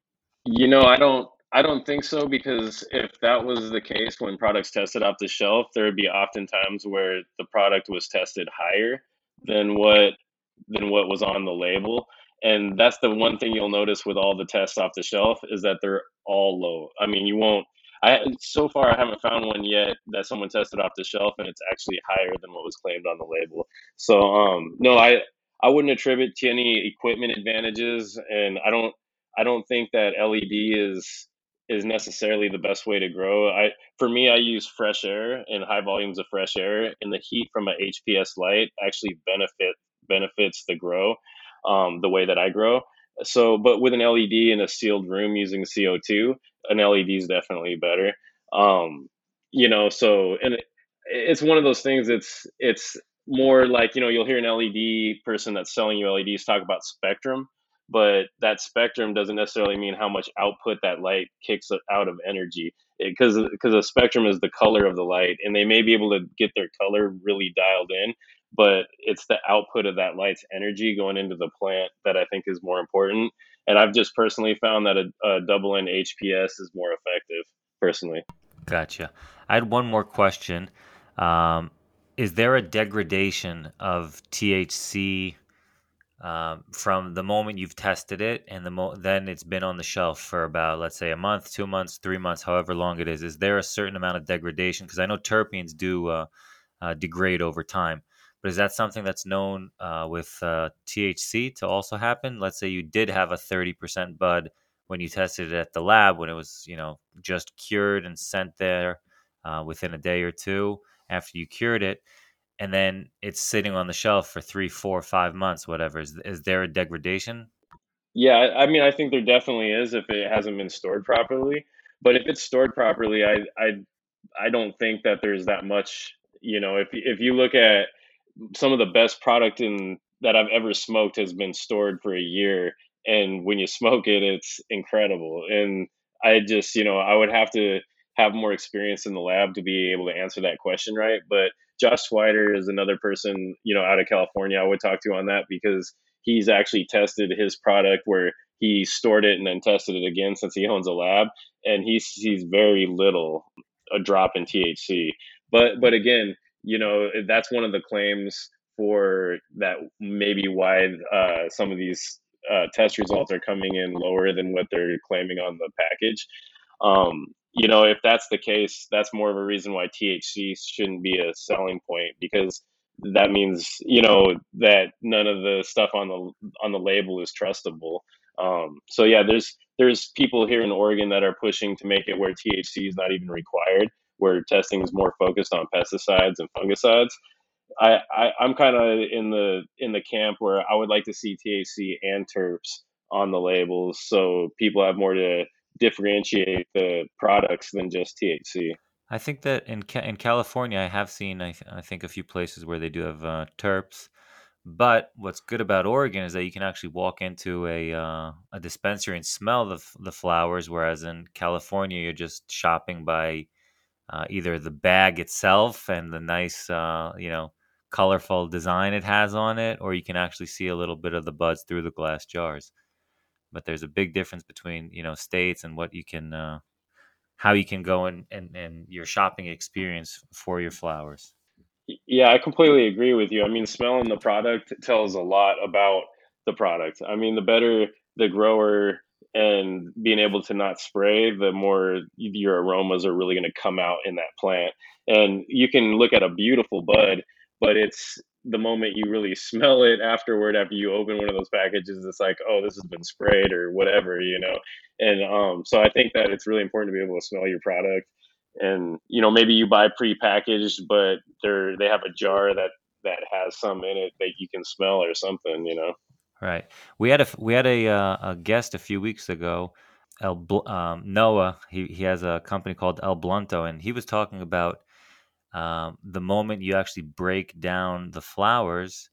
I don't think so, because if that was the case when products tested off the shelf, there would be often times where the product was tested higher than what was on the label. And that's the one thing you'll notice with all the tests off the shelf, is that they're all low. I mean, you won't so far I haven't found one yet that someone tested off the shelf and it's actually higher than what was claimed on the label. So no, I wouldn't attribute to any equipment advantages, and I don't think that LED is necessarily the best way to grow. For me, I use fresh air and high volumes of fresh air, and the heat from a HPS light actually benefits the grow, the way that I grow. So, but with an LED in a sealed room using CO2, an LED is definitely better. Um, so, and it's one of those things. It's more like, you'll hear an LED person that's selling you LEDs talk about spectrum, but that spectrum doesn't necessarily mean how much output that light kicks out of energy, because a spectrum is the color of the light, and they may be able to get their color really dialed in, but it's the output of that light's energy going into the plant that I think is more important. And I've just personally found that a double N HPS is more effective, personally. Gotcha. I had one more question. Um, is there a degradation of THC from the moment you've tested it and then it's been on the shelf for about, let's say, a month, 2 months, 3 months, however long it is? Is there a certain amount of degradation? Because I know terpenes do degrade over time, but is that something that's known with THC to also happen? Let's say you did have a 30% bud when you tested it at the lab, when it was, just cured and sent there within a day or two after you cured it, and then it's sitting on the shelf for 3, 4, 5 months, whatever. Is there a degradation? Yeah, I mean, I think there definitely is if it hasn't been stored properly. But if it's stored properly, I don't think that there's that much. If you look at some of the best product in that I've ever smoked has been stored for a year, and when you smoke it, it's incredible. And I just, I would have to have more experience in the lab to be able to answer that question right. But Josh Swider is another person, out of California I would talk to on that, because he's actually tested his product where he stored it and then tested it again, since he owns a lab, and he sees very little a drop in THC. But again, that's one of the claims for that, maybe why some of these test results are coming in lower than what they're claiming on the package. If that's the case, that's more of a reason why THC shouldn't be a selling point, because that means, that none of the stuff on the label is trustable. So yeah, there's people here in Oregon that are pushing to make it where THC is not even required, where testing is more focused on pesticides and fungicides. I'm kind of in the camp where I would like to see THC and terps on the labels, so people have more to differentiate the products than just THC. I think that in California, I have seen I think a few places where they do have terps. But what's good about Oregon is that you can actually walk into a dispensary and smell the flowers, whereas in California you're just shopping by either the bag itself and the nice colorful design it has on it, or you can actually see a little bit of the buds through the glass jars. But there's a big difference between states and what you can how you can go and your shopping experience for your flowers. Yeah, I completely agree with you. I mean, smelling the product tells a lot about the product. I mean, the better the grower and being able to not spray, the more your aromas are really going to come out in that plant. And you can look at a beautiful bud, but it's the moment you really smell it afterward, after you open one of those packages, it's like, oh, this has been sprayed or whatever. And so I think that it's really important to be able to smell your product, and maybe you buy pre-packaged, but they have a jar that has some in it that you can smell or something. Right. We had a guest a few weeks ago, Noah. He has a company called El Blunto, and he was talking about the moment you actually break down the flowers,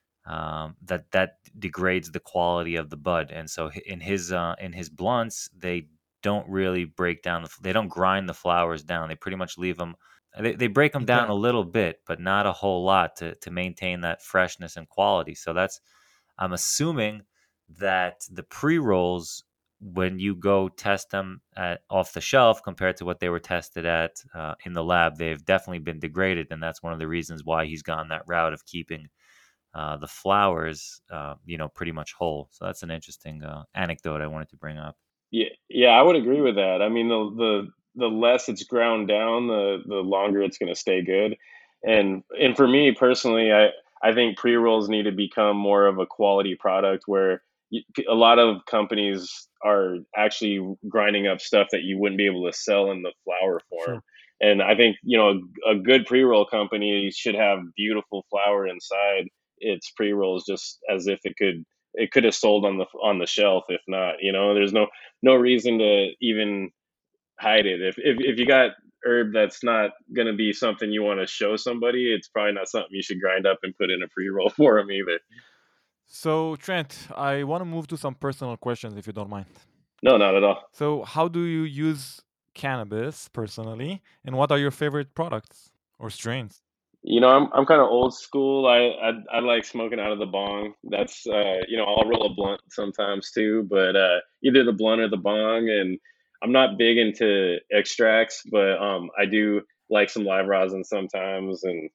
that degrades the quality of the bud. And so in his blunts, they don't really break down. They don't grind the flowers down. They pretty much leave them. They break them down Okay. a little bit, but not a whole lot to maintain that freshness and quality. So I'm assuming that the pre-rolls, when you go test them off the shelf compared to what they were tested at in the lab, they've definitely been degraded, and that's one of the reasons why he's gone that route of keeping the flowers, pretty much whole. So that's an interesting anecdote I wanted to bring up. Yeah, I would agree with that. I mean, the less it's ground down, the longer it's going to stay good. And for me personally, I think pre rolls need to become more of a quality product, where a lot of companies are actually grinding up stuff that you wouldn't be able to sell in the flower form. Sure. And I think a good pre roll company should have beautiful flower inside its pre rolls, just as if it could have sold on the shelf. If not, there's no reason to even hide it. If you got herb that's not going to be something you want to show somebody, it's probably not something you should grind up and put in a pre-roll for them either. So, Trent, I want to move to some personal questions if you don't mind. No, not at all. So, how do you use cannabis personally, and what are your favorite products or strains? I'm kind of old school. I like smoking out of the bong. That's I'll roll a blunt sometimes too, but either the blunt or the bong. And I'm not big into extracts, but I do like some live rosin sometimes. And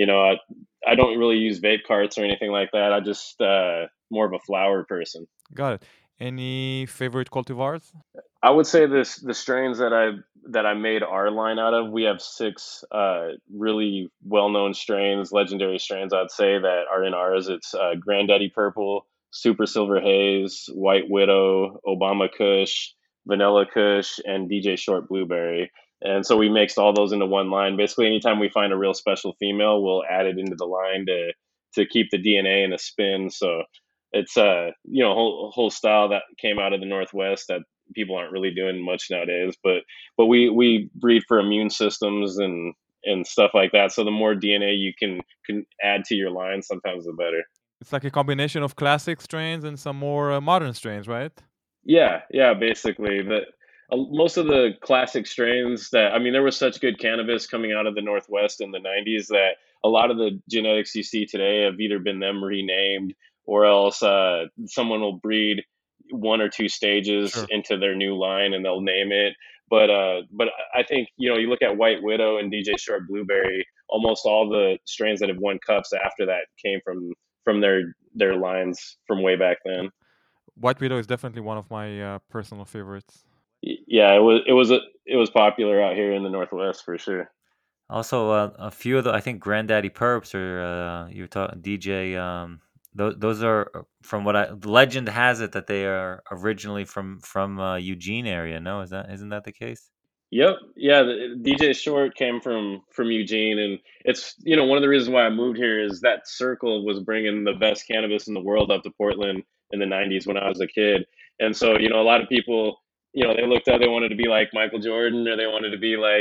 I don't really use vape carts or anything like that. I just more of a flower person. Got it. Any favorite cultivars? I would say the strains that I made our line out of. We have 6 really well known strains, legendary strains, I'd say, that are in ours. It's Granddaddy Purple, Super Silver Haze, White Widow, Obama Kush, Vanilla Kush, and DJ Short Blueberry. And so we mixed all those into one line. Basically, anytime we find a real special female, we'll add it into the line to keep the DNA and the spin. So it's whole style that came out of the Northwest that people aren't really doing much nowadays. But we breed for immune systems and stuff like that. So the more DNA you can add to your line, sometimes the better. It's like a combination of classic strains and some more modern strains, right? Yeah, basically. most of the classic strains that, I mean, there was such good cannabis coming out of the Northwest in the 90s that a lot of the genetics you see today have either been them renamed, or else someone will breed one or two stages Sure. into their new line and they'll name it. But I think, you look at White Widow and DJ Short Blueberry, almost all the strains that have won cups after that came from their lines from way back then. White Widow is definitely one of my personal favorites. Yeah, it was popular out here in the Northwest for sure. Also, a few of the, I think Granddaddy Perps or you were talking DJ. Those are from what the legend has it that they are originally from Eugene area. No, isn't that the case? Yep, yeah. DJ Short came from Eugene, and it's one of the reasons why I moved here is that circle was bringing the best cannabis in the world up to Portland in the '90s when I was a kid, and so a lot of people they looked up, they wanted to be like Michael Jordan, or they wanted to be like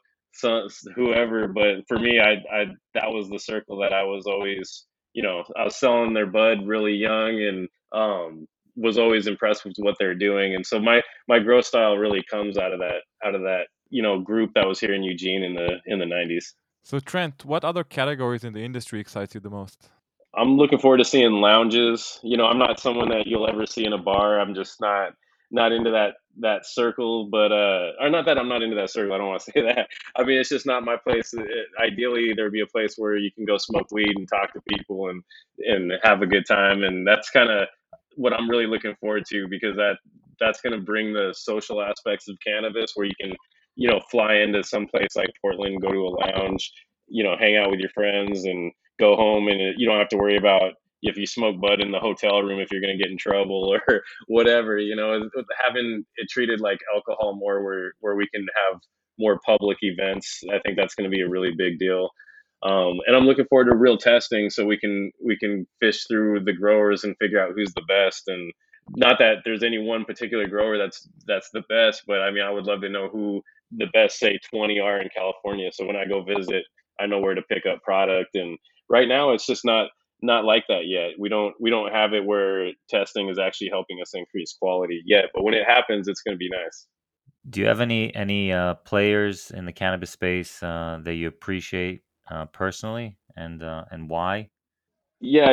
whoever, but for me, I that was the circle that I was always I was selling their bud really young, and was always impressed with what they're doing, and so my growth style really comes out of that group that was here in Eugene in the 90s. So Trent, what other categories in the industry excites you the most? I'm looking forward to seeing lounges. I'm not someone that you'll ever see in a bar. I'm just not into that circle, but or not that I'm not into that circle. I don't want to say that. I mean, it's just not my place. Ideally, there'd be a place where you can go smoke weed and talk to people and have a good time, and that's kind of what I'm really looking forward to, because that's going to bring the social aspects of cannabis, where you can fly into some place like Portland, go to a lounge, hang out with your friends, and go home, and you don't have to worry about if you smoke bud in the hotel room if you're going to get in trouble or whatever. Having it treated like alcohol more, where we can have more public events, I think that's going to be a really big deal. And I'm looking forward to real testing, so we can fish through the growers and figure out who's the best. And not that there's any one particular grower that's the best, but I mean, I would love to know who the best, say, 20 are in California, so when I go visit, I know where to pick up product. And right now, it's just not like that yet. We don't have it where testing is actually helping us increase quality yet, but when it happens, it's going to be nice. Do you have any players in the cannabis space that you appreciate personally, and why? Yeah,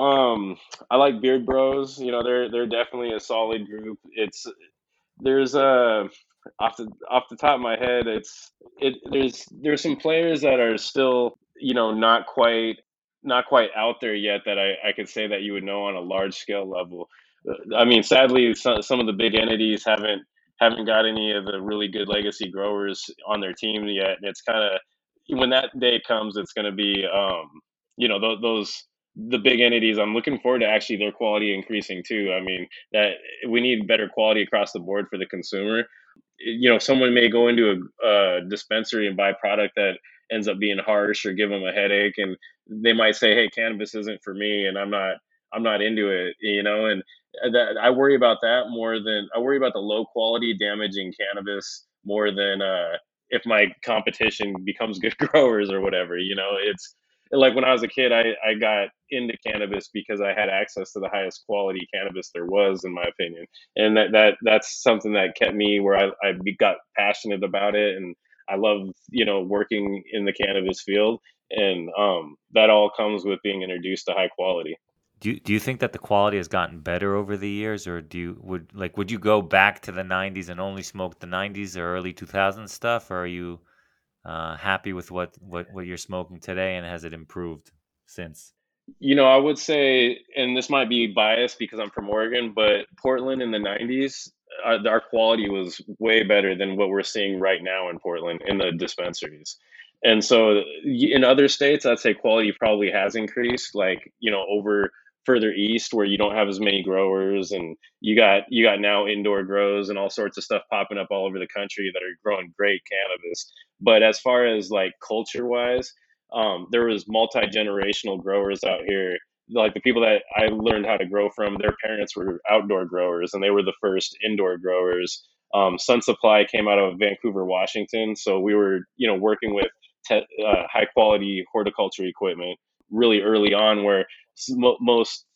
I like Beard Bros. They're definitely a solid group. There's off the top of my head, there's some players that are still not quite out there yet, that I could say that you would know on a large scale level. I mean, sadly, some of the big entities haven't got any of the really good legacy growers on their team yet, and it's kind of, when that day comes, it's going to be those the big entities. I'm looking forward to actually their quality increasing too. I mean, that we need better quality across the board for the consumer. Someone may go into a dispensary and buy product that ends up being harsh or give them a headache, and they might say, hey, cannabis isn't for me, and I'm not into it, and that I worry about that more than I worry about the low quality damaging cannabis more than if my competition becomes good growers or whatever. It's like when I was a kid, I got into cannabis because I had access to the highest quality cannabis there was, in my opinion, and that's something that kept me where I got passionate about it, and I love working in the cannabis field, and that all comes with being introduced to high quality. Do you think that the quality has gotten better over the years, or would you go back to the '90s and only smoke the '90s or early 2000s stuff, or are you happy with what you're smoking today, and has it improved since? I would say, and this might be biased because I'm from Oregon, but Portland in the 90s, our quality was way better than what we're seeing right now in Portland in the dispensaries. And so in other states, I'd say quality probably has increased, like, over further east where you don't have as many growers, and you got now indoor grows and all sorts of stuff popping up all over the country that are growing great cannabis. But as far as like culture wise, there was multi-generational growers out here. Like the people that I learned how to grow from, their parents were outdoor growers, and they were the first indoor growers. Sun Supply came out of Vancouver, Washington, so we were working with high quality horticulture equipment really early on, where most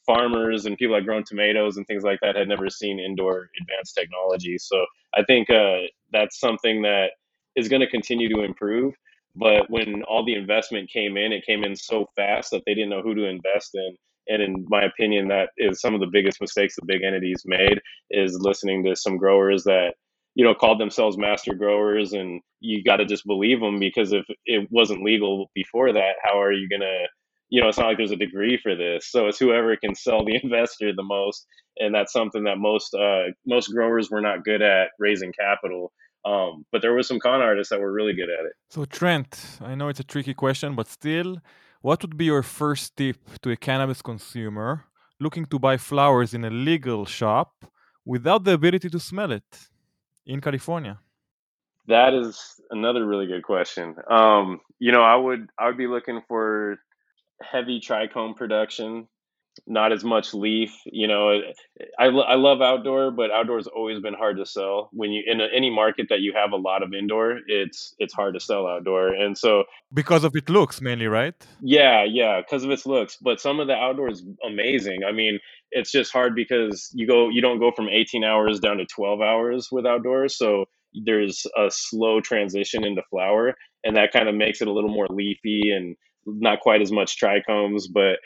farmers and people that grown tomatoes and things like that had never seen indoor advanced technology. So I think that's something that is going to continue to improve. But when all the investment came in, it came in so fast that they didn't know who to invest in. And in my opinion, that is some of the biggest mistakes the big entities made, is listening to some growers that, called themselves master growers, and you got to just believe them, because if it wasn't legal before that, how are you going to, it's not like there's a degree for this. So it's whoever can sell the investor the most. And that's something that most growers were not good at, raising capital. But there were some con artists that were really good at it. So Trent, I know it's a tricky question, but still, what would be your first tip to a cannabis consumer looking to buy flowers in a legal shop without the ability to smell it in California? That is another really good question. I would be looking for heavy trichome production, not as much leaf. I love outdoor, but outdoor's always been hard to sell. When you in any market that you have a lot of indoor, it's hard to sell outdoor. And so Because of its looks mainly, right? yeah, because of its looks. But some of the outdoor is amazing. I mean, it's just hard because you don't go from 18 hours down to 12 hours with outdoors. So there's a slow transition into flower, and that kind of makes it a little more leafy and not quite as much trichomes.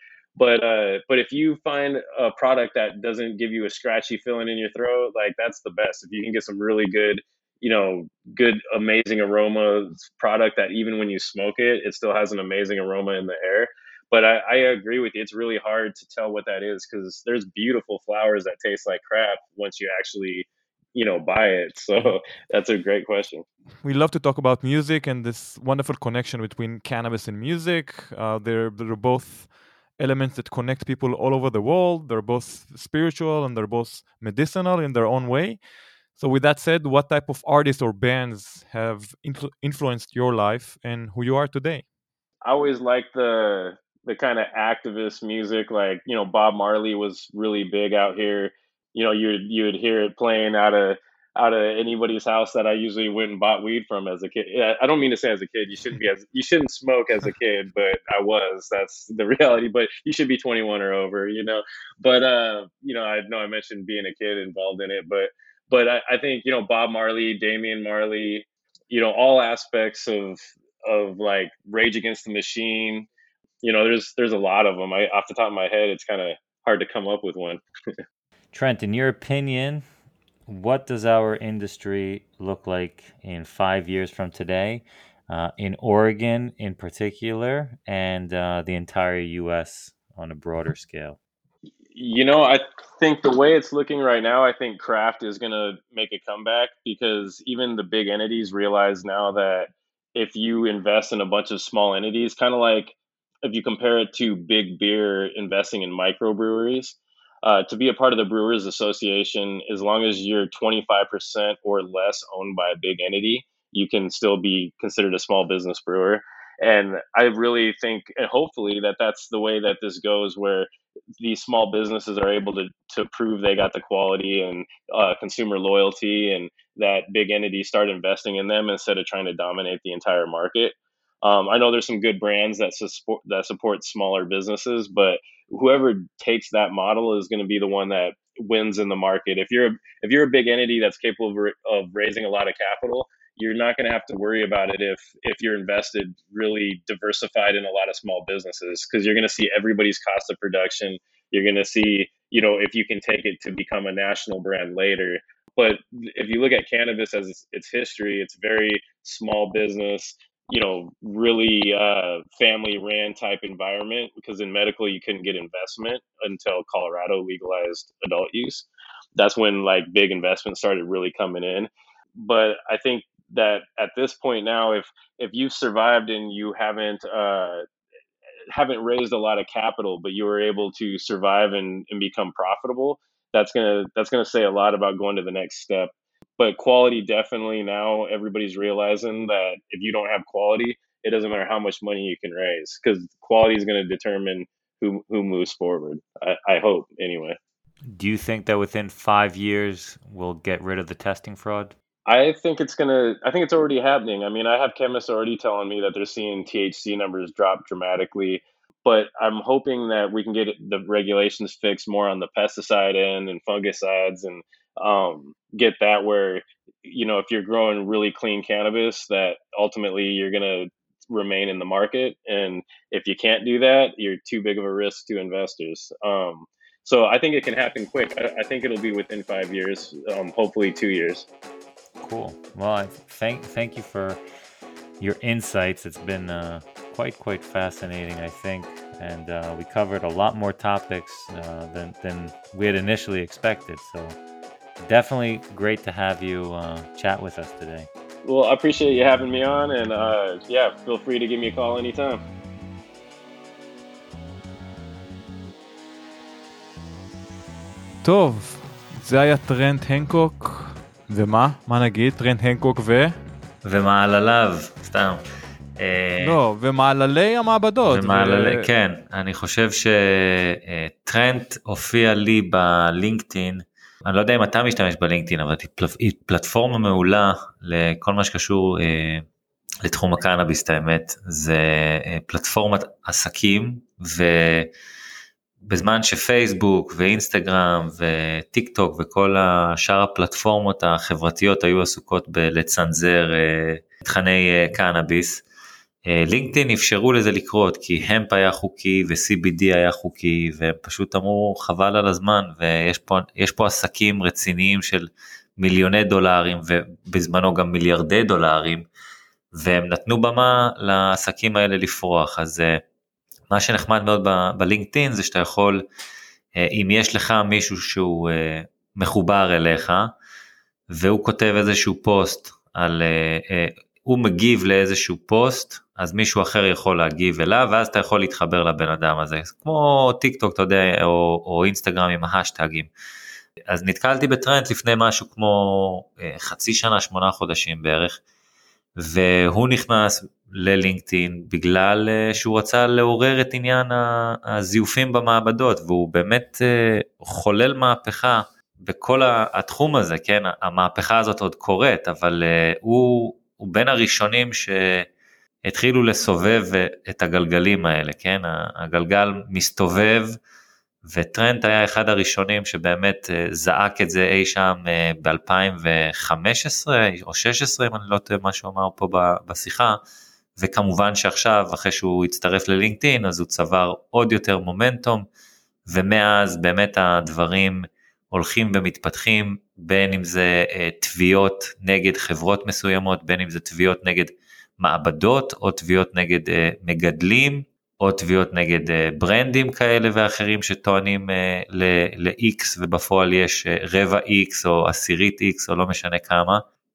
But if you find a product that doesn't give you a scratchy feeling in your throat, like, that's the best. If you can get some really good, good, amazing aroma product that even when you smoke it, it still has an amazing aroma in the air. But I agree with you. It's really hard to tell what that is, because there's beautiful flowers that taste like crap once you actually, buy it. So that's a great question. We love to talk about music and this wonderful connection between cannabis and music. They're both elements that connect people all over the world. They're both spiritual and they're both medicinal in their own way. So, with that said, what type of artists or bands have influenced your life and who you are today? I always liked the kind of activist music, like, Bob Marley was really big out here. You would hear it playing out of anybody's house that I usually went and bought weed from as a kid. Yeah, I don't mean to say as a kid you shouldn't smoke as a kid, but I was. That's the reality. But you should be 21 or over. But I know I mentioned being a kid involved in it, but I think, Bob Marley, Damian Marley, all aspects of like Rage Against the Machine. There's a lot of them. Off the top of my head, it's kind of hard to come up with one. Trent, in your opinion, what does our industry look like in 5 years from today, in Oregon in particular, and the entire U.S. on a broader scale? I think the way it's looking right now, I think craft is going to make a comeback, because even the big entities realize now that if you invest in a bunch of small entities, kind of like if you compare it to big beer investing in microbreweries, to be a part of the Brewers Association, as long as you're 25% or less owned by a big entity, you can still be considered a small business brewer. And I really think, and hopefully, that that's the way that this goes, where these small businesses are able to prove they got the quality and consumer loyalty, and that big entities start investing in them instead of trying to dominate the entire market. I know there's some good brands that support smaller businesses, but whoever takes that model is going to be the one that wins in the market. If you're a big entity that's capable of raising a lot of capital, you're not going to have to worry about it if you're invested really diversified in a lot of small businesses, because you're going to see everybody's cost of production. You're going to see, if you can take it to become a national brand later. But if you look at cannabis as its history, it's very small business, really family ran type environment, because in medical you couldn't get investment until Colorado legalized adult use. That's when like big investment started really coming in. But I think that at this point now, if you've survived and you haven't raised a lot of capital, but you were able to survive and become profitable, that's gonna say a lot about going to the next step. But quality, definitely, now everybody's realizing that if you don't have quality, it doesn't matter how much money you can raise, because quality is going to determine who moves forward. I hope, anyway. Do you think that within 5 years we'll get rid of the testing fraud? I think it's already happening. I mean, I have chemists already telling me that they're seeing THC numbers drop dramatically. but I'm hoping that we can get the regulations fixed more on the pesticide end and fungicides, and get that where, if you're growing really clean cannabis, that ultimately you're going to remain in the market. And if you can't do that, you're too big of a risk to investors. So I think it can happen quick. I think it'll be within 5 years, hopefully 2 years. Cool. Well, thank you for your insights. It's been quite fascinating, I think, and we covered a lot more topics than we had initially expected. So definitely great to have you chat with us today. Well, I appreciate you having me on, and feel free to give me a call anytime. טוב, זה היה טרנט הנקוק, ומה? מה נגיד? טרנט הנקוק ומעלליו, סתם. לא, ומעללי המעבדות. כן, אני חושב שטרנט הופיע לי בלינקדאין, אני לא יודע אם אתה משתמש בלינקדאין, אבל היא פלטפורמה מעולה לכל מה שקשור לתחום הקנאביס, האמת, זה פלטפורמת עסקים, ובזמן שפייסבוק ואינסטגרם וטיק טוק וכל השאר הפלטפורמות החברתיות היו עסוקות בלצנזר תכני קנאביס, לינקדאין אפשרו לזה לקרות, כי המפ היה חוקי ו-CBD היה חוקי, והם פשוט אמרו חבל על הזמן, ויש פה עסקים רציניים של מיליוני דולרים, ובזמנו גם מיליארדי דולרים, והם נתנו במה לעסקים האלה לפרוח. אז מה שנחמד מאוד בלינקדאין, זה שאתה יכול, אם יש לך מישהו שהוא מחובר אליך, והוא כותב איזשהו פוסט על... הוא מגיב לאיזשהו פוסט, אז מישהו אחר יכול להגיב אליו, ואז אתה יכול להתחבר לבן אדם הזה, כמו טיק טוק, אתה יודע, או אינסטגרם עם ההשטגים. אז נתקלתי בטרנט לפני משהו כמו חצי שנה, 8 חודשים בערך, והוא נכנס ללינקדאין, בגלל שהוא רצה לעורר את עניין הזיופים במעבדות, והוא באמת חולל מהפכה בכל התחום הזה, כן, המהפכה הזאת עוד קורית, אבל הוא בין הראשונים שהתחילו לסובב את הגלגלים האלה, כן? הגלגל מסתובב, וטרנט היה אחד הראשונים שבאמת זעק את זה אי שם ב-2015 או 16, אם אני לא טועה מה שהוא אמר פה בשיחה, וכמובן שעכשיו, אחרי שהוא הצטרף ללינקדאין, אז הוא צבר עוד יותר מומנטום, ומאז באמת הדברים הולכים ומתפתחים, בין אם זה תביעות נגד חברות מסוימות, בין אם זה תביעות נגד מעבדות, או תביעות נגד מגדלים, או תביעות נגד ברנדים כאלה ואחרים שטוענים ל-X, ובפועל יש רבע X או עשירית X או לא משנה כמה,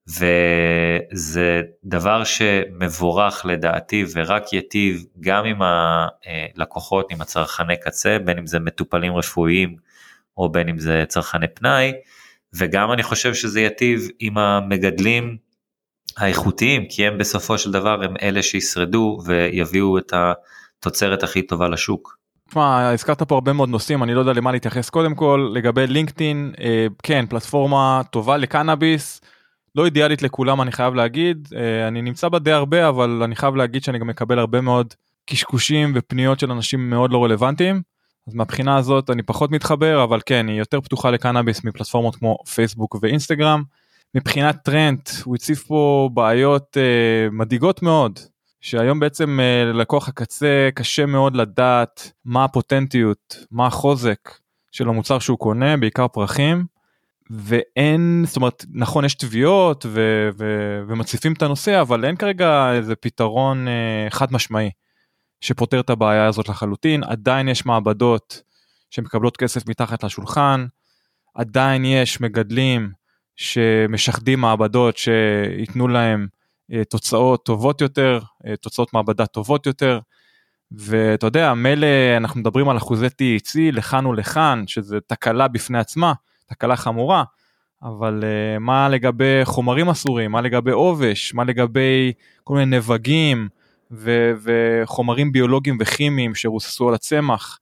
וזה דבר שמבורך לדעתי, ורק יטיב גם עם הלקוחות, עם הצרכני קצה, בין אם זה מטופלים רפואיים, או בין אם זה צרכני פנאי, וגם אני חושב שזה יטיב עם המגדלים האיכותיים, כי הם בסופו של דבר הם אלה שישרדו ויביאו את התוצרת הכי טובה לשוק. תשמע, הזכרת פה הרבה מאוד נושאים, אני לא יודע למה להתייחס. קודם כל, לגבי לינקדאין, כן, פלטפורמה טובה לקנאביס, לא אידיאלית לכולם, אני חייב להגיד, אני נמצא בה די הרבה, אבל אני חייב להגיד שאני גם מקבל הרבה מאוד קשקושים ופניות של אנשים מאוד לא רלוונטיים, אז מהבחינה הזאת אני פחות מתחבר, אבל כן, היא יותר פתוחה לקנאביס מפלטפורמות כמו פייסבוק ואינסטגרם. מבחינת טרנט, הוא הציף פה בעיות מדאיגות מאוד, שהיום בעצם ללקוח הקצה קשה מאוד לדעת מה הפוטנטיות, מה החוזק של המוצר שהוא קונה, בעיקר פרחים, ואין, זאת אומרת, נכון, יש תביעות ומציפים את הנושא, אבל אין כרגע איזה פתרון חד משמעי, שפותר את הבעיה הזאת לחלוטין. עדיין יש מעבדות שמקבלות כסף מתחת לשולחן, עדיין יש מגדלים שמשחדים מעבדות שיתנו להם תוצאות טובות יותר, תוצאות מעבדה טובות יותר, ואתה יודע, מלא אנחנו מדברים על אחוזי THC לכאן ולכאן, שזה תקלה בפני עצמה, תקלה חמורה, אבל מה לגבי חומרים אסורים, מה לגבי עובש, מה לגבי כל מיני נבגים, וחומרים ביולוגיים וכימיים שרוססו על הצמח,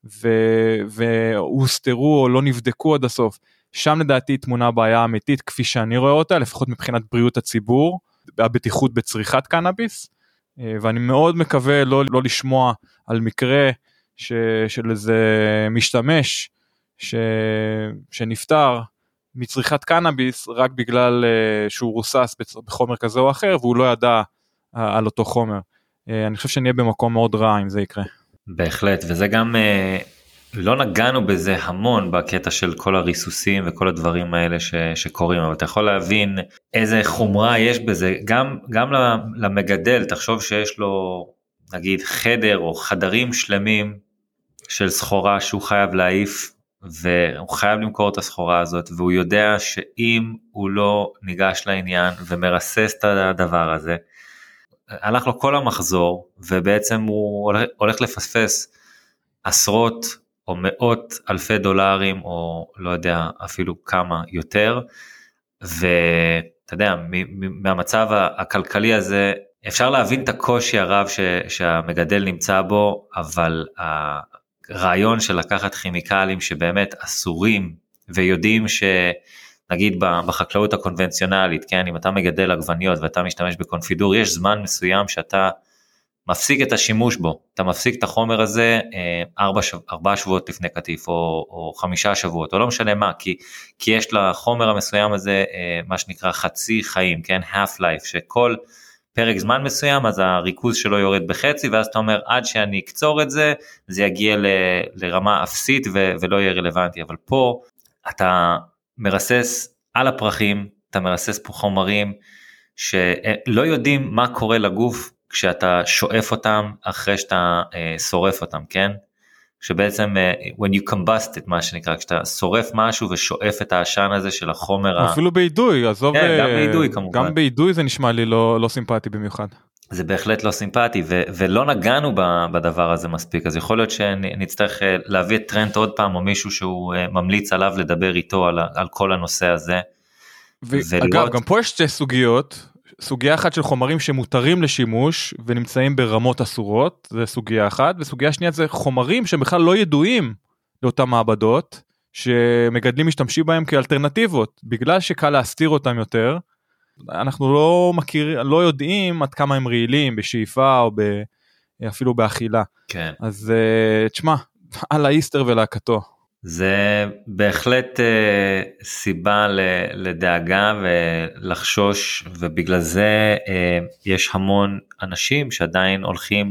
והוסתרו או לא נבדקו עד הסוף, שם לדעתי תמונה בעיה אמיתית, כפי שאני רואה אותה, לפחות מבחינת בריאות הציבור, הבטיחות בצריכת קנאביס, ואני מאוד מקווה לא לשמוע על מקרה של איזה משתמש שנפטר מצריכת קנאביס רק בגלל שהוא רוסס בחומר כזה או אחר והוא לא ידע על אותו חומר. אני חושב שנהיה במקום מאוד רע אם זה יקרה. בהחלט, וזה גם לא נגענו בזה המון בקטע של כל הריסוסים וכל הדברים האלה שקורים, אבל אתה יכול להבין איזה חומרה יש בזה, גם למגדל, תחשוב שיש לו נגיד חדר או חדרים שלמים של סחורה שהוא חייב להעיף, והוא חייב למכור את הסחורה הזאת, והוא יודע שאם הוא לא ניגש לעניין ומרסס את הדבר הזה, הלך לו כל המחזור, ובעצם הוא הולך לפספס עשרות או מאות אלפי דולרים, או לא יודע אפילו כמה יותר, ואתה יודע, מהמצב הכלכלי הזה, אפשר להבין את הקושי הרב שהמגדל נמצא בו, אבל הרעיון של לקחת כימיקלים שבאמת אסורים, ויודעים נגיד בחקלאות הקונבנציונלית, כן, אם אתה מגדל עגבניות ואתה משתמש בקונפידור, יש זמן מסוים שאתה מפסיק את השימוש בו, אתה מפסיק את החומר הזה 4 שבועות לפני קטיף, או 5 שבועות, או לא משנה מה, כי יש לחומר המסוים הזה מה שנקרא חצי חיים, כן, half life, שכל פרק זמן מסוים, אז הריכוז שלו יורד בחצי, ואז אתה אומר, עד שאני אקצור את זה, זה יגיע לרמה אפסית ולא יהיה רלוונטי, אבל פה אתה מרסס על הפרחים, אתה מרסס פה חומרים שלא יודעים מה קורה לגוף כשאתה שואף אותם אחרי שאתה שורף אותם, כן? שבעצם when you combust it, מה שנקרא, כשאתה שורף משהו ושואף את העשן הזה של החומר. אפילו בעידוי, עזוב, כן, גם בעידוי כמובן. גם בעידוי זה נשמע לי לא סימפטי במיוחד. זה בהחלט לא סימפטי, ולא נגענו בדבר הזה מספיק, אז יכול להיות שנצטרך להביא את טרנט עוד פעם, או מישהו שהוא ממליץ עליו לדבר איתו על כל הנושא הזה. אגב, גם פה יש 2 סוגיות, סוגיה אחת של חומרים שמותרים לשימוש, ונמצאים ברמות אסורות, זה סוגיה אחת, וסוגיה שנייה זה חומרים שבכלל לא ידועים לאותן מעבדות, שמגדלים משתמשים בהם כאלטרנטיבות, בגלל שקל להסתיר אותם יותר, אנחנו לא יודעים עד כמה הם רעילים בשאיפה או אפילו באכילה. כן. אז תשמע, על האיסטר ולהקתו. זה בהחלט סיבה לדאגה ולחשוש, ובגלל זה יש המון אנשים שעדיין הולכים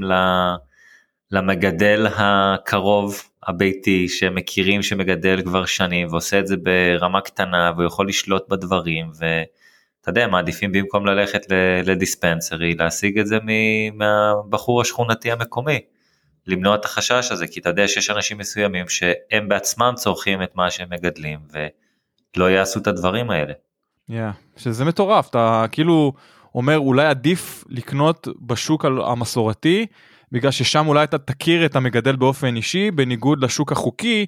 למגדל הקרוב הביתי, שמכירים שמגדל כבר שנים, ועושה את זה ברמה קטנה, והוא יכול לשלוט בדברים, אתה יודע, מעדיפים במקום ללכת לדיספנסרי, להשיג את זה מהבחור השכונתי המקומי, למנוע את החשש הזה, כי אתה יודע שיש אנשים מסוימים שהם בעצמם צורכים את מה שהם מגדלים, ולא יעשו את הדברים האלה. שזה מטורף, אתה כאילו אומר אולי עדיף לקנות בשוק המסורתי, בגלל ששם אולי אתה תכיר את המגדל באופן אישי, בניגוד לשוק החוקי,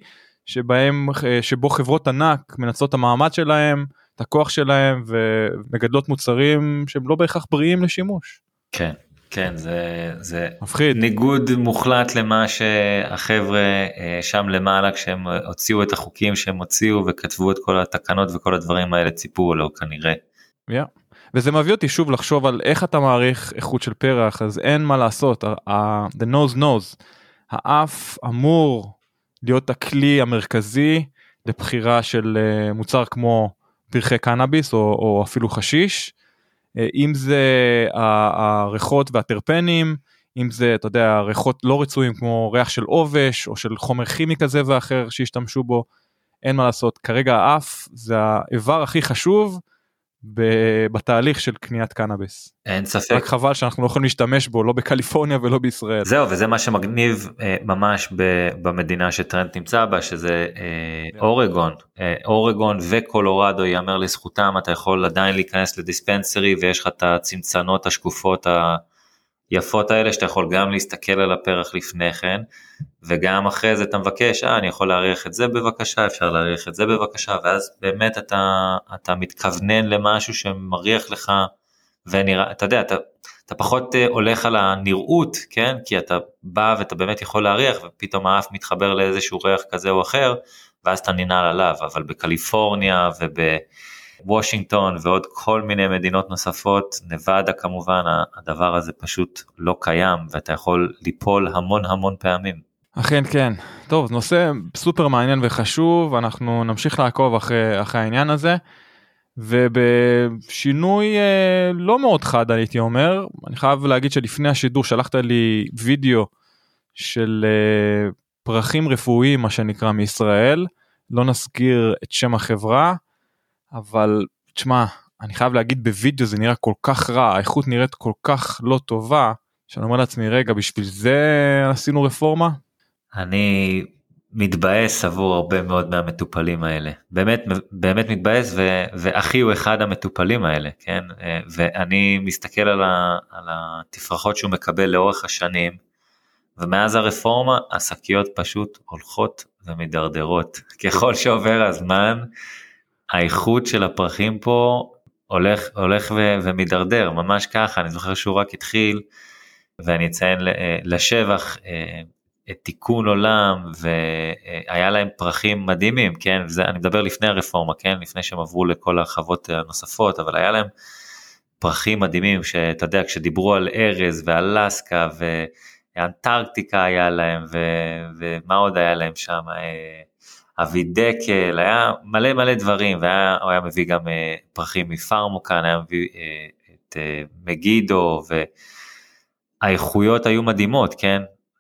שבו חברות ענק מנצלות את המעמד שלהם, את הכוח שלהם, ומגדלות מוצרים שהם לא בהכרח בריאים לשימוש. כן, כן, זה מפחיד. ניגוד מוחלט למה שהחבר'ה שם למעלה, כשהם הוציאו את החוקים שהם הוציאו, וכתבו את כל התקנות וכל הדברים האלה, ציפו לו כנראה. וזה מביא אותי שוב לחשוב על איך אתה מעריך איכות של פרח, אז אין מה לעשות, the nose knows, האף אמור להיות הכלי המרכזי, לבחירה של מוצר כמו פרחי קנאביס, או אפילו חשיש, אם זה הריחות והטרפנים, אם זה, אתה יודע, ריחות לא רצויים, כמו ריח של עובש, או של חומר כימי כזה ואחר, שהשתמשו בו, אין מה לעשות, כרגע האף, זה האיבר הכי חשוב, בתהליך של קניית קנאביס. אין ספק. רק חבל שאנחנו לא יכולים להשתמש בו, לא בקליפורניה ולא בישראל. זהו, וזה מה שמגניב ממש במדינה שטרנט נמצא בה, שזה אורגון. אורגון וקולורדו, יאמר לזכותם, אתה יכול עדיין להיכנס לדיספנסרי, ויש לך את הצמצנות השקופות היפות האלה, שאתה יכול גם להסתכל על הפרח לפני כן, וגם אחרי זה אתה מבקש, אני יכול להעריך את זה בבקשה, אפשר להעריך את זה בבקשה, ואז באמת אתה מתכוונן למשהו שמריח לך, ונראה, אתה יודע, אתה פחות הולך על הנראות, כן? כי אתה בא ואתה באמת יכול להריח, ופתאום האף מתחבר לאיזשהו ריח כזה או אחר, ואז אתה ננעל עליו, אבל בקליפורניה וושינגטון ועוד כל מיני מדינות נוספות, נבדה כמובן, הדבר הזה פשוט לא קיים, ואתה יכול ליפול המון המון פעמים. אכן כן. טוב, נושא סופר מעניין וחשוב, אנחנו נמשיך לעקוב אחרי העניין הזה, ובשינוי לא מאוד חד הייתי אומר, אני חייב להגיד שלפני השידור שלחת לי וידאו של פרחים רפואיים, מה שנקרא מישראל, לא נזכיר את שם החברה, אבל תשמע, אני חייב להגיד בווידאו זה נראה כל כך רע, האיכות נראית כל כך לא טובה, שאני אומר לעצמי רגע, בשביל זה עשינו רפורמה? אני מתבאס עבור הרבה מאוד מהמטופלים האלה, באמת מתבאס, ואחי הוא אחד המטופלים האלה, כן? ואני מסתכל על התפרחות שהוא מקבל לאורך השנים, ומאז הרפורמה, השקיות פשוט הולכות ומדרדרות. ככל שעובר הזמן, האיכות של הפרחים פה הולך ומדרדר, ממש ככה. אני זוכר שהוא רק התחיל, ואני אציין לשבח את תיקון עולם, והיה להם פרחים מדהימים, כן? אני מדבר לפני הרפורמה, כן? לפני שהם עברו לכל החוות הנוספות, אבל היה להם פרחים מדהימים, שאתה יודע, כשדיברו על ארז ואלסקה, אנטרקטיקה היה להם, ומה עוד היה להם שם, אבידקל, היה מלא דברים, והוא היה מביא גם פרחים מפרמוקן, היה מביא את מגידו, והאיכויות היו מדהימות, כן?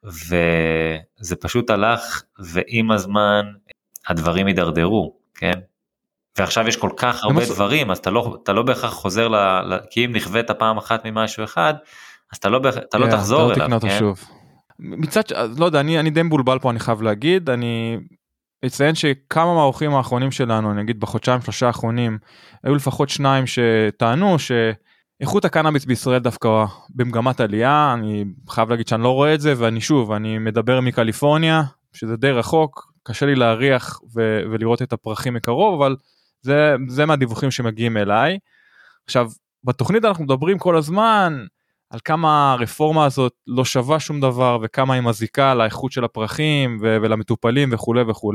וזה פשוט הלך, ועם הזמן הדברים הידרדרו, כן? ועכשיו יש כל כך הרבה דברים, אז אתה לא בהכרח חוזר, כי אם נכווית פעם אחת ממשהו אחד, אז אתה לא תחזור אליו, כן? מצד, לא יודע, אני די מבולבל פה, אני חייב להגיד, אני אציין שכמה מהאורחים האחרונים שלנו, אני אגיד בחודשיים 3 האחרונים, היו לפחות 2 שטענו שאיכות הקנאביס בישראל דווקא במגמת עלייה, אני חייב להגיד שאני לא רואה את זה, ואני מדבר מקליפורניה, שזה די רחוק, קשה לי להריח ולראות את הפרחים מקרוב, אבל זה מהדיווחים שמגיעים אליי. עכשיו, בתוכנית אנחנו מדברים כל הזמן, על כמה הרפורמה הזאת לא שווה שום דבר, וכמה היא מזיקה לאיכות של הפרחים, ולמטופלים וכו' וכו'.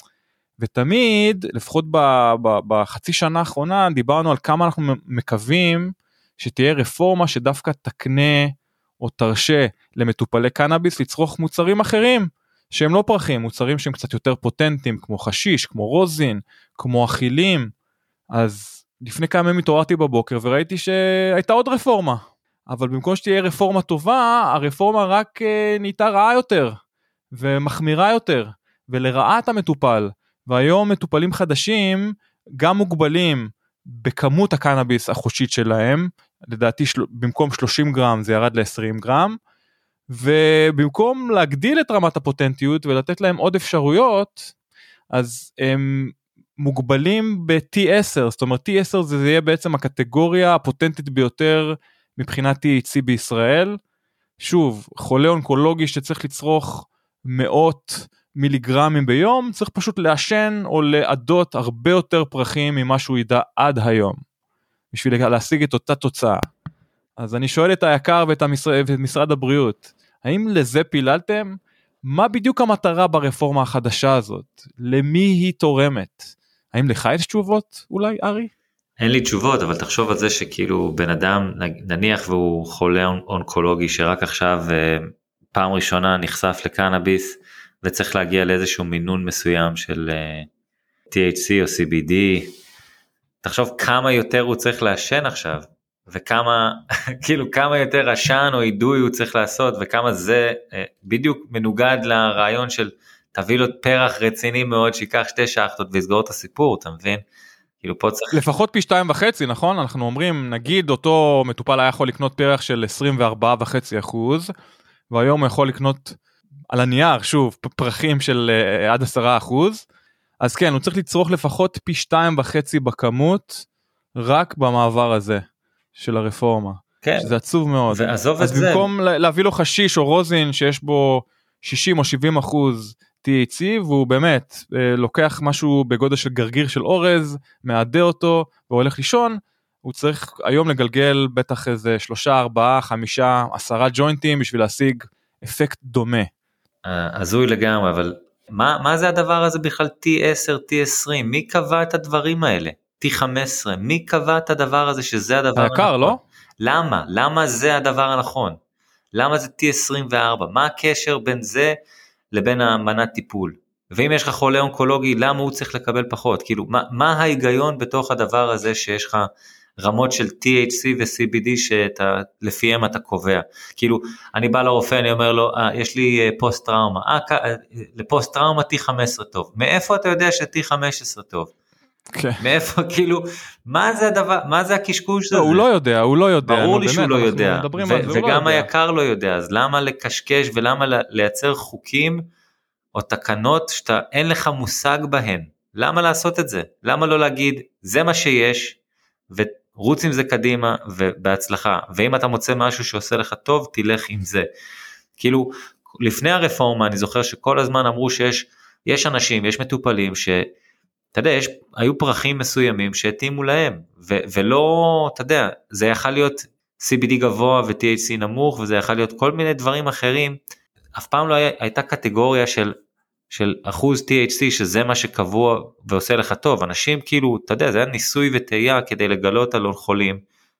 ותמיד, לפחות בחצי שנה האחרונה, דיברנו על כמה אנחנו מקווים, שתהיה רפורמה שדווקא תקנה, או תרשה למטופלי קנאביס, לצרוך מוצרים אחרים, שהם לא פרחים, מוצרים שהם קצת יותר פוטנטיים, כמו חשיש, כמו רוזין, כמו אכילים. אז לפני כמה ימים התעוררתי בבוקר, וראיתי שהייתה עוד רפורמה. אבל במקום שתהיה רפורמה טובה, הרפורמה רק נהייתה רעה יותר, ומחמירה יותר, ולרעת המטופל. והיום מטופלים חדשים, גם מוגבלים בכמות הקנאביס החושית שלהם, לדעתי במקום 30 גרם זה ירד ל-20 גרם, ובמקום להגדיל את רמת הפוטנטיות, ולתת להם עוד אפשרויות, אז הם מוגבלים ב-T10, זאת אומרת T10 זה יהיה בעצם הקטגוריה הפוטנטית ביותר, מבחינת THC בישראל. שוב, חולה אונקולוגי שצריך לצרוך 100 מיליגרמים ביום, צריך פשוט לעשן או לעדות הרבה יותר פרחים ממה שהוא ידע עד היום, בשביל להשיג את אותה תוצאה. אז אני שואל את היקר ואת משרד הבריאות, האם לזה פיללתם? מה בדיוק המטרה ברפורמה החדשה הזאת? למי היא תורמת? האם לך יש תשובות אולי, ארי? אין לי תשובות, אבל תחשוב על זה שכאילו בן אדם, נניח והוא חולה אונקולוגי, שרק עכשיו פעם ראשונה נחשף לקנאביס, וצריך להגיע לאיזשהו מינון מסוים של THC או CBD, תחשוב כמה יותר הוא צריך לעשן עכשיו, וכמה, כאילו כמה יותר עשן או עידוי הוא צריך לעשות, וכמה זה בדיוק מנוגד לרעיון של תביא לו פרח רציני מאוד, שיקח 2 שחטות ויסגור את הסיפור, אתה מבין? כאילו פה צריך... לפחות פי 2.5, נכון? אנחנו אומרים, נגיד אותו מטופל היה יכול לקנות פרח של 24.5%, והיום הוא יכול לקנות על הנייר, שוב, פרחים של עד 10%, אז כן, הוא צריך לצרוך לפחות פי 2.5 בכמות, רק במעבר הזה של הרפורמה. כן. שזה עצוב מאוד. ועזוב את זה. אז במקום להביא לו חשיש או רוזין, שיש בו 60 או 70% THC, והוא באמת לוקח משהו בגודל של גרגיר של אורז, מעדה אותו, והולך לישון, הוא צריך היום לגלגל בטח איזה 3, 4, 5, 10 ג'וינטים, בשביל להשיג אפקט דומה. הזוי לגמרי, אבל מה זה הדבר הזה בכלל T10, T20? מי קבע את הדברים האלה? T15, מי קבע את הדבר הזה שזה הדבר הנכון? היקר, לא? למה? למה זה הדבר הנכון? למה זה T24? מה הקשר בין זה לבין המנת טיפול? ואם יש לך חולה אונקולוגי, למה הוא צריך לקבל פחות? כאילו, מה ההיגיון בתוך הדבר הזה שיש לך רמות של THC ו-CBD שלפיהם אתה קובע? כאילו, אני בא לרופא, אני אומר לו, יש לי פוסט טראומה, לפוסט טראומה T15 טוב. מאיפה אתה יודע ש-T15 טוב? מאיפה, כאילו, מה זה הדבר, מה זה הקשקוש הזה? הוא לא יודע, הוא לא יודע. ברור לי שהוא לא יודע, וגם היקר לא יודע, אז למה לקשקש ולמה לייצר חוקים או תקנות שאתה אין לך מושג בהן? למה לעשות את זה? למה לא להגיד, זה מה שיש, ורוץ עם זה קדימה ובהצלחה, ואם אתה מוצא משהו שעושה לך טוב, תלך עם זה. כאילו, לפני הרפורמה אני זוכר שכל הזמן אמרו שיש אנשים, יש מטופלים אתה יודע, היו פרחים מסוימים שהתאימו להם, ולא, אתה יודע, זה יכול להיות CBD גבוה ו-THC נמוך, וזה יכול להיות כל מיני דברים אחרים, אף פעם לא הייתה קטגוריה של אחוז THC, שזה מה שקבוע ועושה לך טוב. אנשים כאילו, אתה יודע, זה היה ניסוי וטעייה כדי לגלות על חולים,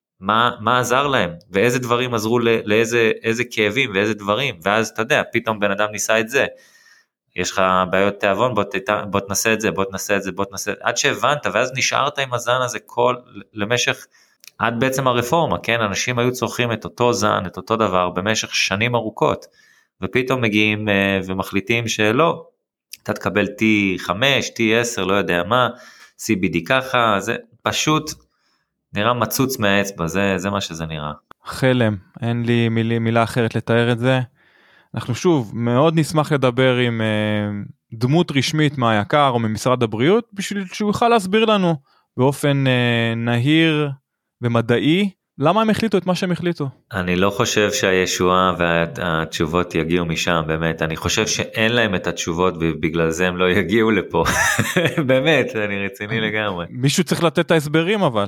מה עזר להם, ואיזה דברים עזרו לאיזה כאבים ואיזה דברים, ואז אתה יודע, פתאום בן אדם ניסה את זה, יש לך בעיות תיאבון, בוא תנסה את זה, בוא תנסה את זה, עד שהבנת, ואז נשארת עם הזן הזה למשך, עד בעצם הרפורמה, כן, אנשים היו צורכים את אותו זן, את אותו דבר, במשך שנים ארוכות, ופתאום מגיעים ומחליטים שלא, אתה תקבל T5, T10, לא יודע מה, CBD ככה, זה פשוט נראה מצוץ מהאצבע, זה מה שזה נראה. חלם, אין לי מילה אחרת לתאר את זה. אנחנו שוב מאוד נשמח לדבר עם דמות רשמית מהיקר או ממשרד הבריאות, בשביל שהוא יוכל להסביר לנו באופן נהיר ומדעי, למה הם החליטו את מה שהם החליטו. אני לא חושב שהישועה והתשובות יגיעו משם, באמת, אני חושב שאין להם את התשובות, ובגלל זה הם לא יגיעו לפה, באמת, אני רציני לגמרי. מישהו צריך לתת את ההסברים אבל,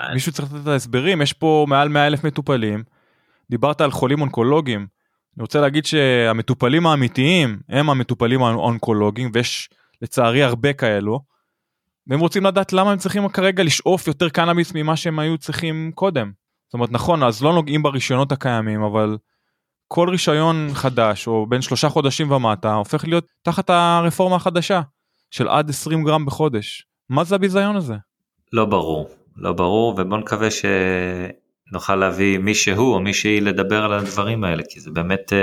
יש פה מעל 100,000 מטופלים, דיברת על חולים אונקולוגיים, אני רוצה להגיד שהמטופלים האמיתיים הם המטופלים האונקולוגיים, ויש לצערי הרבה כאלו, והם רוצים לדעת למה הם צריכים כרגע לשאוף יותר קנאביס ממה שהם היו צריכים קודם. זאת אומרת, נכון, אז לא נוגעים ברישיונות הקיימים, אבל כל רישיון חדש, או בין 3 חודשים ומטה, הופך להיות תחת הרפורמה החדשה, של עד 20 גרם בחודש. מה זה הביזיון הזה? לא ברור, ובוא נקווה נוכל להביא מישהו או מישהי לדבר על הדברים האלה, כי זה באמת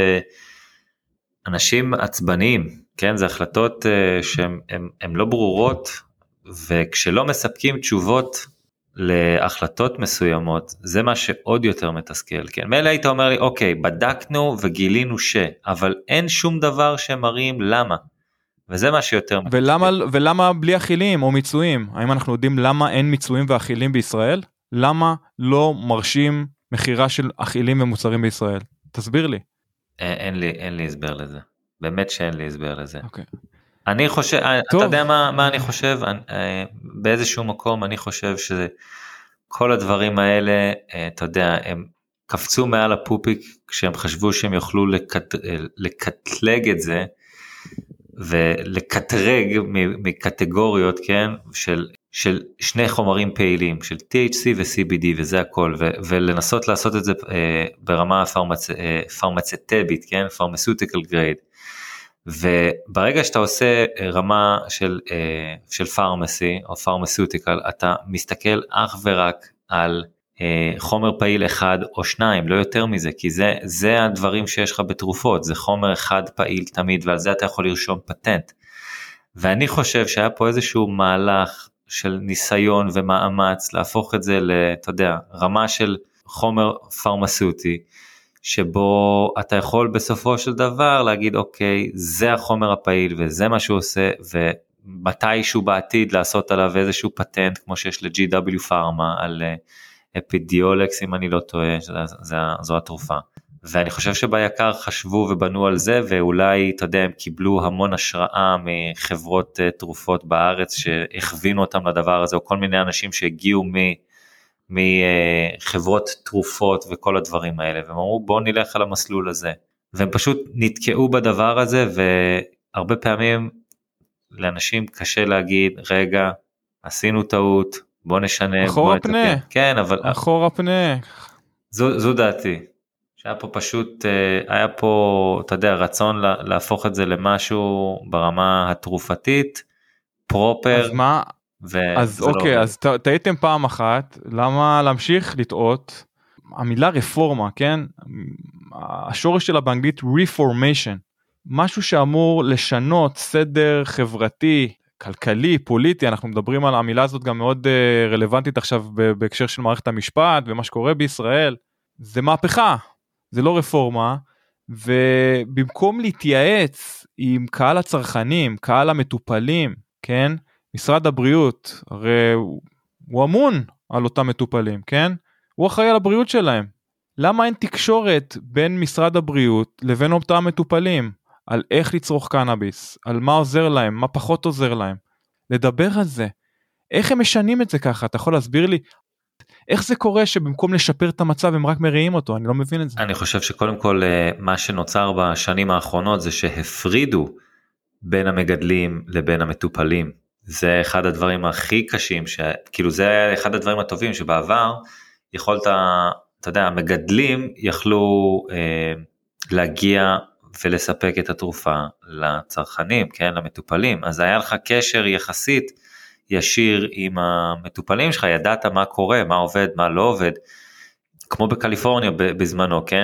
אנשים עצבניים, כן? זה החלטות שהן לא ברורות, וכשלא מספקים תשובות להחלטות מסוימות, זה מה שעוד יותר מתסכל, כן? מילא היית אומר לי, אוקיי, בדקנו וגילינו אבל אין שום דבר שמראים למה, וזה מה שיותר מתסכל. ולמה בלי אכילים או מיצויים? האם אנחנו יודעים למה אין מיצויים ואכילים בישראל? למה לא מרשים מחירה של אכילים ומוצרים בישראל? תסביר לי. אין לי הסבר לזה. באמת שאין לי הסבר לזה. אוקיי. אני חושב, אתה יודע מה אני חושב? באיזשהו מקום אני חושב שכל הדברים האלה, אתה יודע, הם קפצו מעל הפופיק, כשהם חשבו שהם יוכלו לקטלג את זה, ולקטרג מקטגוריות, כן, של שני חומרים פעילים, של THC ו-CBD וזה הכל, ולנסות לעשות את זה ברמה פרמצטבית, כן, pharmaceutical grade, וברגע שאתה עושה רמה של פארמסי או פארמסוטיקל, אתה מסתכל אך ורק על חומר פעיל אחד או שניים, לא יותר מזה, כי זה הדברים שיש לך בתרופות, זה חומר אחד פעיל תמיד, ועל זה אתה יכול לרשום פטנט. ואני חושב שהיה פה איזשהו מהלך של ניסיון ומאמץ להפוך את זה אתה יודע, רמה של חומר פרמצוטי, שבו אתה יכול בסופו של דבר להגיד, אוקיי, זה החומר הפעיל וזה מה שהוא עושה, ומתישהו בעתיד לעשות עליו איזשהו פטנט, כמו שיש ל-GW פארמה, על אפידיולקס, אם אני לא טועה, זו התרופה. ואני חושב שביקר חשבו ובנו על זה, ואולי, אתה יודע, הם קיבלו המון השראה מחברות תרופות בארץ, שהכווינו אותם לדבר הזה, או כל מיני אנשים שהגיעו מחברות תרופות וכל הדברים האלה, והם אמרו בואו נלך על המסלול הזה, והם פשוט נתקעו בדבר הזה, והרבה פעמים לאנשים קשה להגיד, רגע, עשינו טעות, בוא נשנה. אחורה פנה. כן, אבל... אחורה פנה. זו דעתי. שהיה פה פשוט, היה פה, אתה יודע, רצון להפוך את זה למשהו ברמה התרופתית, פרופר. אז מה? אז אוקיי, אז טעיתם פעם אחת, למה להמשיך לטעות? המילה רפורמה, כן? השורש שלה באנגלית reformation, משהו שאמור לשנות סדר חברתי, כלכלי, פוליטי, אנחנו מדברים על המילה הזאת גם מאוד רלוונטית עכשיו בהקשר של מערכת המשפט ומה שקורה בישראל, זה מהפכה, זה לא רפורמה, ובמקום להתייעץ עם קהל הצרכנים, קהל המטופלים, כן? משרד הבריאות, הרי הוא אמון על אותם מטופלים, כן? הוא אחראי על הבריאות שלהם. למה אין תקשורת בין משרד הבריאות לבין אותם מטופלים? על איך לצרוך קנאביס, על מה עוזר להם, מה פחות עוזר להם. לדבר על זה. איך הם משנים את זה ככה? אתה יכול להסביר לי? איך זה קורה שבמקום לשפר את המצב הם רק מראים אותו? אני לא מבין את זה. אני חושב שקודם כל מה שנוצר בשנים האחרונות זה שהפרידו בין המגדלים לבין המטופלים. זה אחד הדברים הכי קשים, כאילו זה אחד הדברים הטובים שבעבר יכולת, אתה יודע, המגדלים יכלו להגיע ולספק את התרופה לצרכנים, כן, למטופלים, אז היה לך קשר יחסית ישיר עם המטופלים שלך, ידעת מה קורה, מה עובד, מה לא עובד, כמו בקליפורניה בזמנו, כן,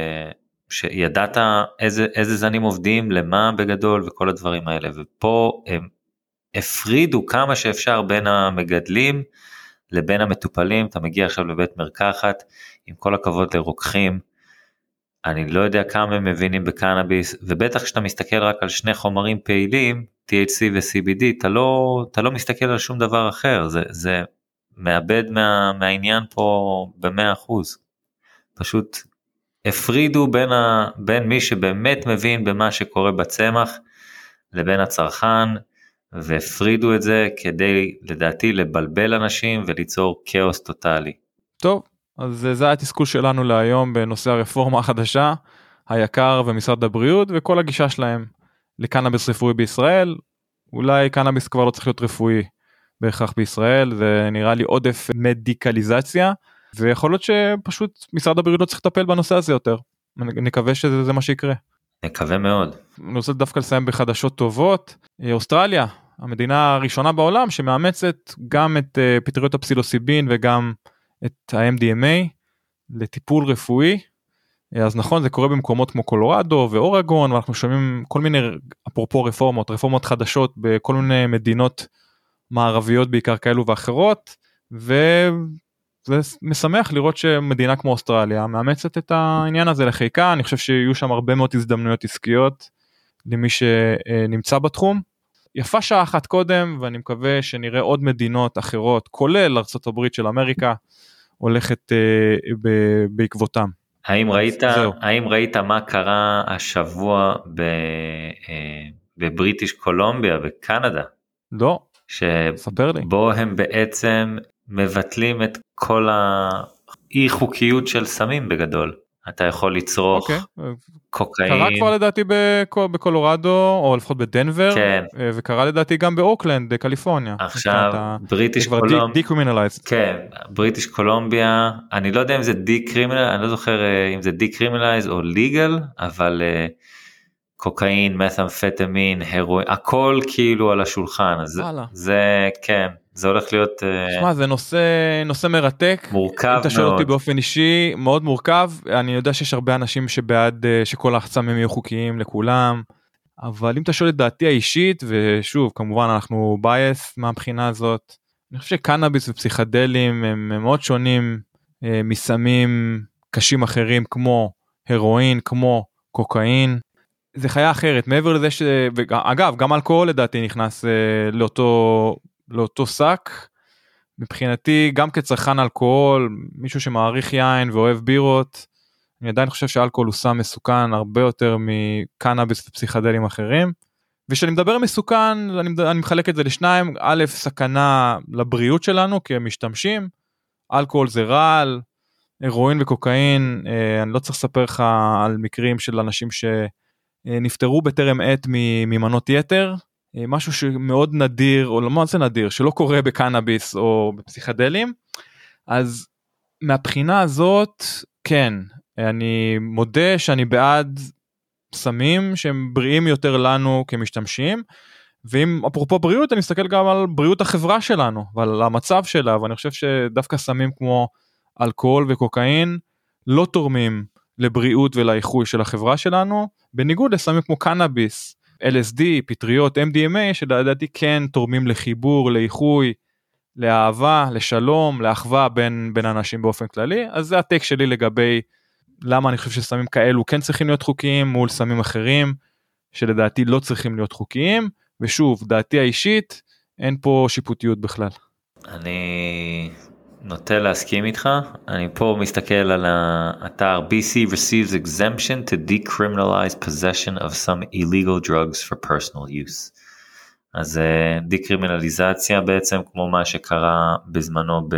שידעת איזה זנים עובדים, למה בגדול וכל הדברים האלה, ופה הם הפרידו כמה שאפשר בין המגדלים לבין המטופלים. אתה מגיע עכשיו לבית מרקחת, עם כל הכבוד לרוקחים, אני לא יודע כמה הם מבינים בקנאביס, ובטח כשאתה מסתכל רק על שני חומרים פעילים, THC ו-CBD, אתה לא מסתכל על שום דבר אחר, זה מאבד מהעניין פה ב100%. פשוט הפרידו בין מי שבאמת מבין במה שקורה בצמח, לבין הצרכן, והפרידו את זה כדי לדעתי לבלבל אנשים וליצור כאוס טוטלי. טוב, אז זה התסכול שלנו להיום בנושא הרפורמה החדשה, היקר ומשרד הבריאות וכל הגישה שלהם לקנאביס רפואי בישראל. אולי קנאביס כבר לא צריך להיות רפואי בהכרח בישראל, זה נראה לי עודף מדיקליזציה, ויכול להיות שפשוט משרד הבריאות לא צריך לטפל בנושא הזה יותר. נקווה שזה מה שיקרה. נקווה מאוד. אני רוצה דווקא לסיים בחדשות טובות. אוסטרליה, המדינה הראשונה בעולם שמאמצת גם את פטריות הפסילוסיבין וגם את ה-MDMA לטיפול רפואי. אז נכון, זה קורה במקומות כמו קולורדו ואורגון, ואנחנו שומעים כל מיני, אפרופו רפורמות חדשות בכל מיני מדינות מערביות בעיקר כאלו ואחרות, וזה משמח לראות שמדינה כמו אוסטרליה מאמצת את העניין הזה לחיקה. אני חושב שיהיו שם הרבה מאוד הזדמנויות עסקיות למי שנמצא בתחום. יפה שעה אחת קודם, ואני מקווה שנראה עוד מדינות אחרות, כולל ארצות הברית של אמריקה, הולכת בעקבותם. האם ראית מה קרה השבוע בבריטיש קולומביה, בקנדה? לא, ספר לי. שבו הם בעצם מבטלים את כל האי חוקיות של סמים בגדול. אתה יכול לצרוך קוקאין. קרה כבר לדעתי בקולורדו, או לפחות בדנבר, כן. וקרה לדעתי גם באוקלנד, קליפורניה. עכשיו, בריטיש קולומביה. דיקרימינליזד. כן, בריטיש קולומביה, אני לא יודע אם זה דיקרימינליזד, אני לא זוכר אם זה דיקרימינליזד או ליגל, אבל קוקאין, מת'אמפטמין, הרואין, הכל כאילו על השולחן. זה כן. זה הולך להיות... שמה, זה נושא מרתק. מורכב מאוד. אם אתה שואל אותי באופן אישי, מאוד מורכב. אני יודע שיש הרבה אנשים שבעד שכל הסמים יהיו חוקיים לכולם, אבל אם אתה שואל את דעתי האישית, ושוב, כמובן אנחנו בייס מהבחינה הזאת, אני חושב שקנאביס ופסיכדלים הם מאוד שונים מסמים קשים אחרים, כמו הרואין, כמו קוקאין. זה חיה אחרת, מעבר לזה אגב, גם אלכוהול לדעתי נכנס לאותו שק. מבחינתי גם כצרכן אלכוהול, מישהו שמעריך יין ואוהב בירות, אני עדיין חושב שאלכוהול הוא סם מסוכן הרבה יותר מקנאביס ופסיכדלים אחרים. ושאני מדבר מסוכן, אני מחלק את זה לשניים. א', סכנה לבריאות שלנו כמשתמשים, אלכוהול זה רעל, הרואין וקוקאין, אני לא צריך לספר לך על מקרים של אנשים שנפטרו בטרם עת ממנות יתר, משהו שמאוד נדיר, או לא מה זה נדיר, שלא קורה בקנאביס או בפסיכדלים, אז מהבחינה הזאת, כן, אני מודה שאני בעד סמים שהם בריאים יותר לנו כמשתמשים, ואם אפרופו בריאות, אני מסתכל גם על בריאות החברה שלנו, ועל המצב שלה, ואני חושב שדווקא סמים כמו אלכוהול וקוקאין, לא תורמים לבריאות ולאיחוי של החברה שלנו, בניגוד לסמים כמו קנאביס, LSD, פטריות, MDMA, שלדעתי כן תורמים לחיבור, לאיחוי, לאהבה, לשלום, לאחווה בין אנשים באופן כללי. אז זה הטק שלי לגבי למה אני חושב שסמים כאלו כן צריכים להיות חוקיים מול סמים אחרים, שלדעתי לא צריכים להיות חוקיים, ושוב, דעתי האישית, אין פה שיפוטיות בכלל. אני נוטה להסכים איתך, אני פה מסתכל על האתר BC receives exemption to decriminalize possession of some illegal drugs for personal use. אז דקרימינליזציה בעצם כמו מה שקרה בזמנו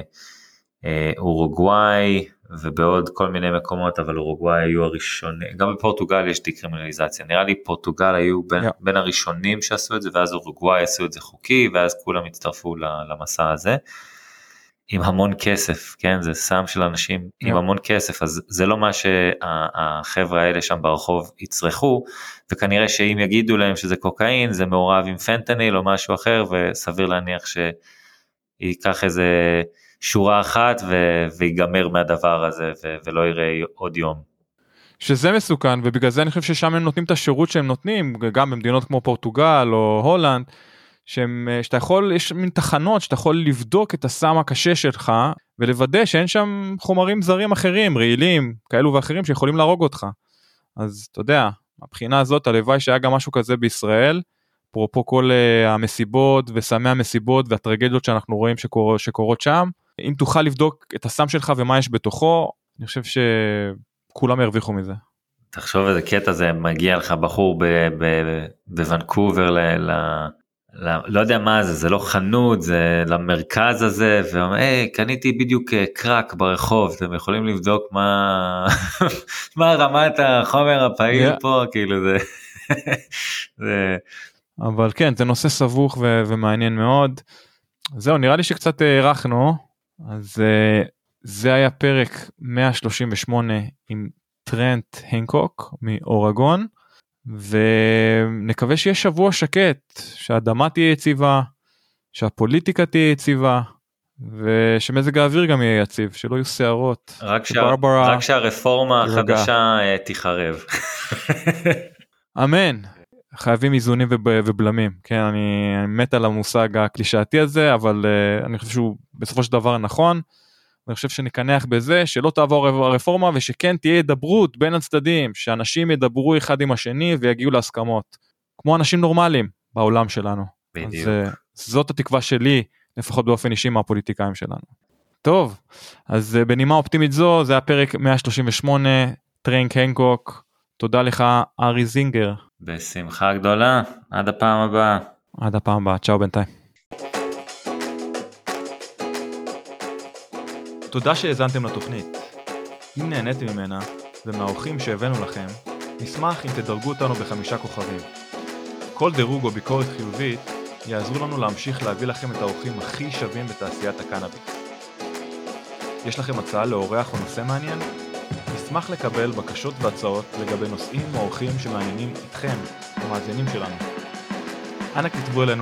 באורוגוואי ובעוד כל מיני מקומות, אבל אורוגוואי היו הראשונים, גם בפורטוגל יש דקרימינליזציה, נראה לי פורטוגל היו בין הראשונים שעשו את זה, ואז אורוגוואי עשו את זה חוקי, ואז כולם הצטרפו למסע הזה, עם המון כסף, כן, זה סם של אנשים עם המון כסף, אז זה לא מה שהחבר'ה האלה שם ברחוב יצרכו, וכנראה שאם יגידו להם שזה קוקאין, זה מעורב עם פנטניל או משהו אחר, וסביר להניח שיקח איזה שורה אחת ויגמר מהדבר הזה, ולא יראה עוד יום. שזה מסוכן, ובגלל זה אני חושב ששם הם נותנים את השירות שהם נותנים, גם במדינות כמו פורטוגל או הולנד, שאתה יכול, יש מין תחנות שאתה יכול לבדוק את הסם הקשה שלך, ולוודא שאין שם חומרים זרים אחרים, רעילים, כאלו ואחרים שיכולים להרוג אותך. אז אתה יודע, הבחינה הזאת, הלוואי שהיה גם משהו כזה בישראל, אפרופו כל המסיבות וסמי המסיבות והטרגדיות שאנחנו רואים שקורות שם, אם תוכל לבדוק את הסם שלך ומה יש בתוכו, אני חושב שכולם ירוויחו מזה. תחשוב איזה קטע זה, מגיע לך בחור בוונקובר לא יודע מה זה, זה לא חנות, זה למרכז הזה, ואומר, היי, קניתי בדיוק קרק ברחוב, אתם יכולים לבדוק מה רמת החומר הפעיל פה, כאילו זה... אבל כן, זה נושא סבוך ומעניין מאוד. זהו, נראה לי שקצת הערכנו, אז זה היה פרק 138 עם טרנט הנקוק מאורגון, ונקווה שיהיה שבוע שקט, שהאדמה תהיה יציבה, שהפוליטיקה תהיה יציבה, ושמזג האוויר גם יהיה יציב, שלא יהיו שערות. רק שהרפורמה החדשה תיחרב. אמן. חייבים איזונים ובלמים, כן, אני מת על המושג הקלישאתי הזה, אבל אני חושב שהוא בסופו של דבר נכון, אני חושב שנקנח בזה, שלא תעבור הרפורמה, ושכן תהיה ידברות בין הצדדים, שאנשים ידברו אחד עם השני, ויגיעו להסכמות, כמו אנשים נורמליים בעולם שלנו. בדיוק. אז זאת התקווה שלי, לפחות באופן אישי מהפוליטיקאים שלנו. טוב, אז בנימה אופטימית זו, זה הפרק 138, טרנט הנקוק, תודה לך ארי זינגר. בשמחה גדולה, עד הפעם הבאה. עד הפעם הבאה, צ'או בינתיים. תודה שהאזנתם לתוכנית. אם נהניתם ממנה ומהאורחים שהבאנו לכם, נשמח אם תדרגו אותנו ב5 כוכבים. כל דירוג או ביקורת חיובית יעזרו לנו להמשיך להביא לכם את האורחים הכי שווים בתעשיית הקנאביס. יש לכם הצעה לאורח או נושא מעניין? נשמח לקבל בקשות והצעות לגבי נושאים או אורחים שמעניינים אתכם, המאזינים שלנו. אנא כתבו אלינו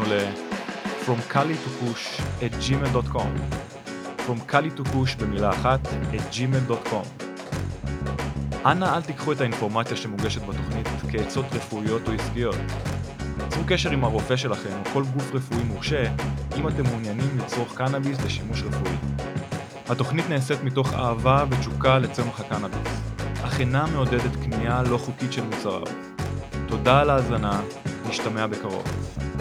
fromcali2push@gmail.com fromcali2push במילה אחת @gmail.com. אנא אל תיקחו את האינפורמציה שמוגשת בתוכנית כעצות רפואיות או עסקיות. צרו קשר עם הרופא שלכם או כל גוף רפואי מורשה אם אתם מעוניינים לצרוך קנאביס לשימוש רפואי. התוכנית נעשית מתוך אהבה ותשוקה לצמח הקנאביס, אך אינה מעודדת קנייה לא חוקית של מוצריו. תודה על ההאזנה, נשתמע בקרוב.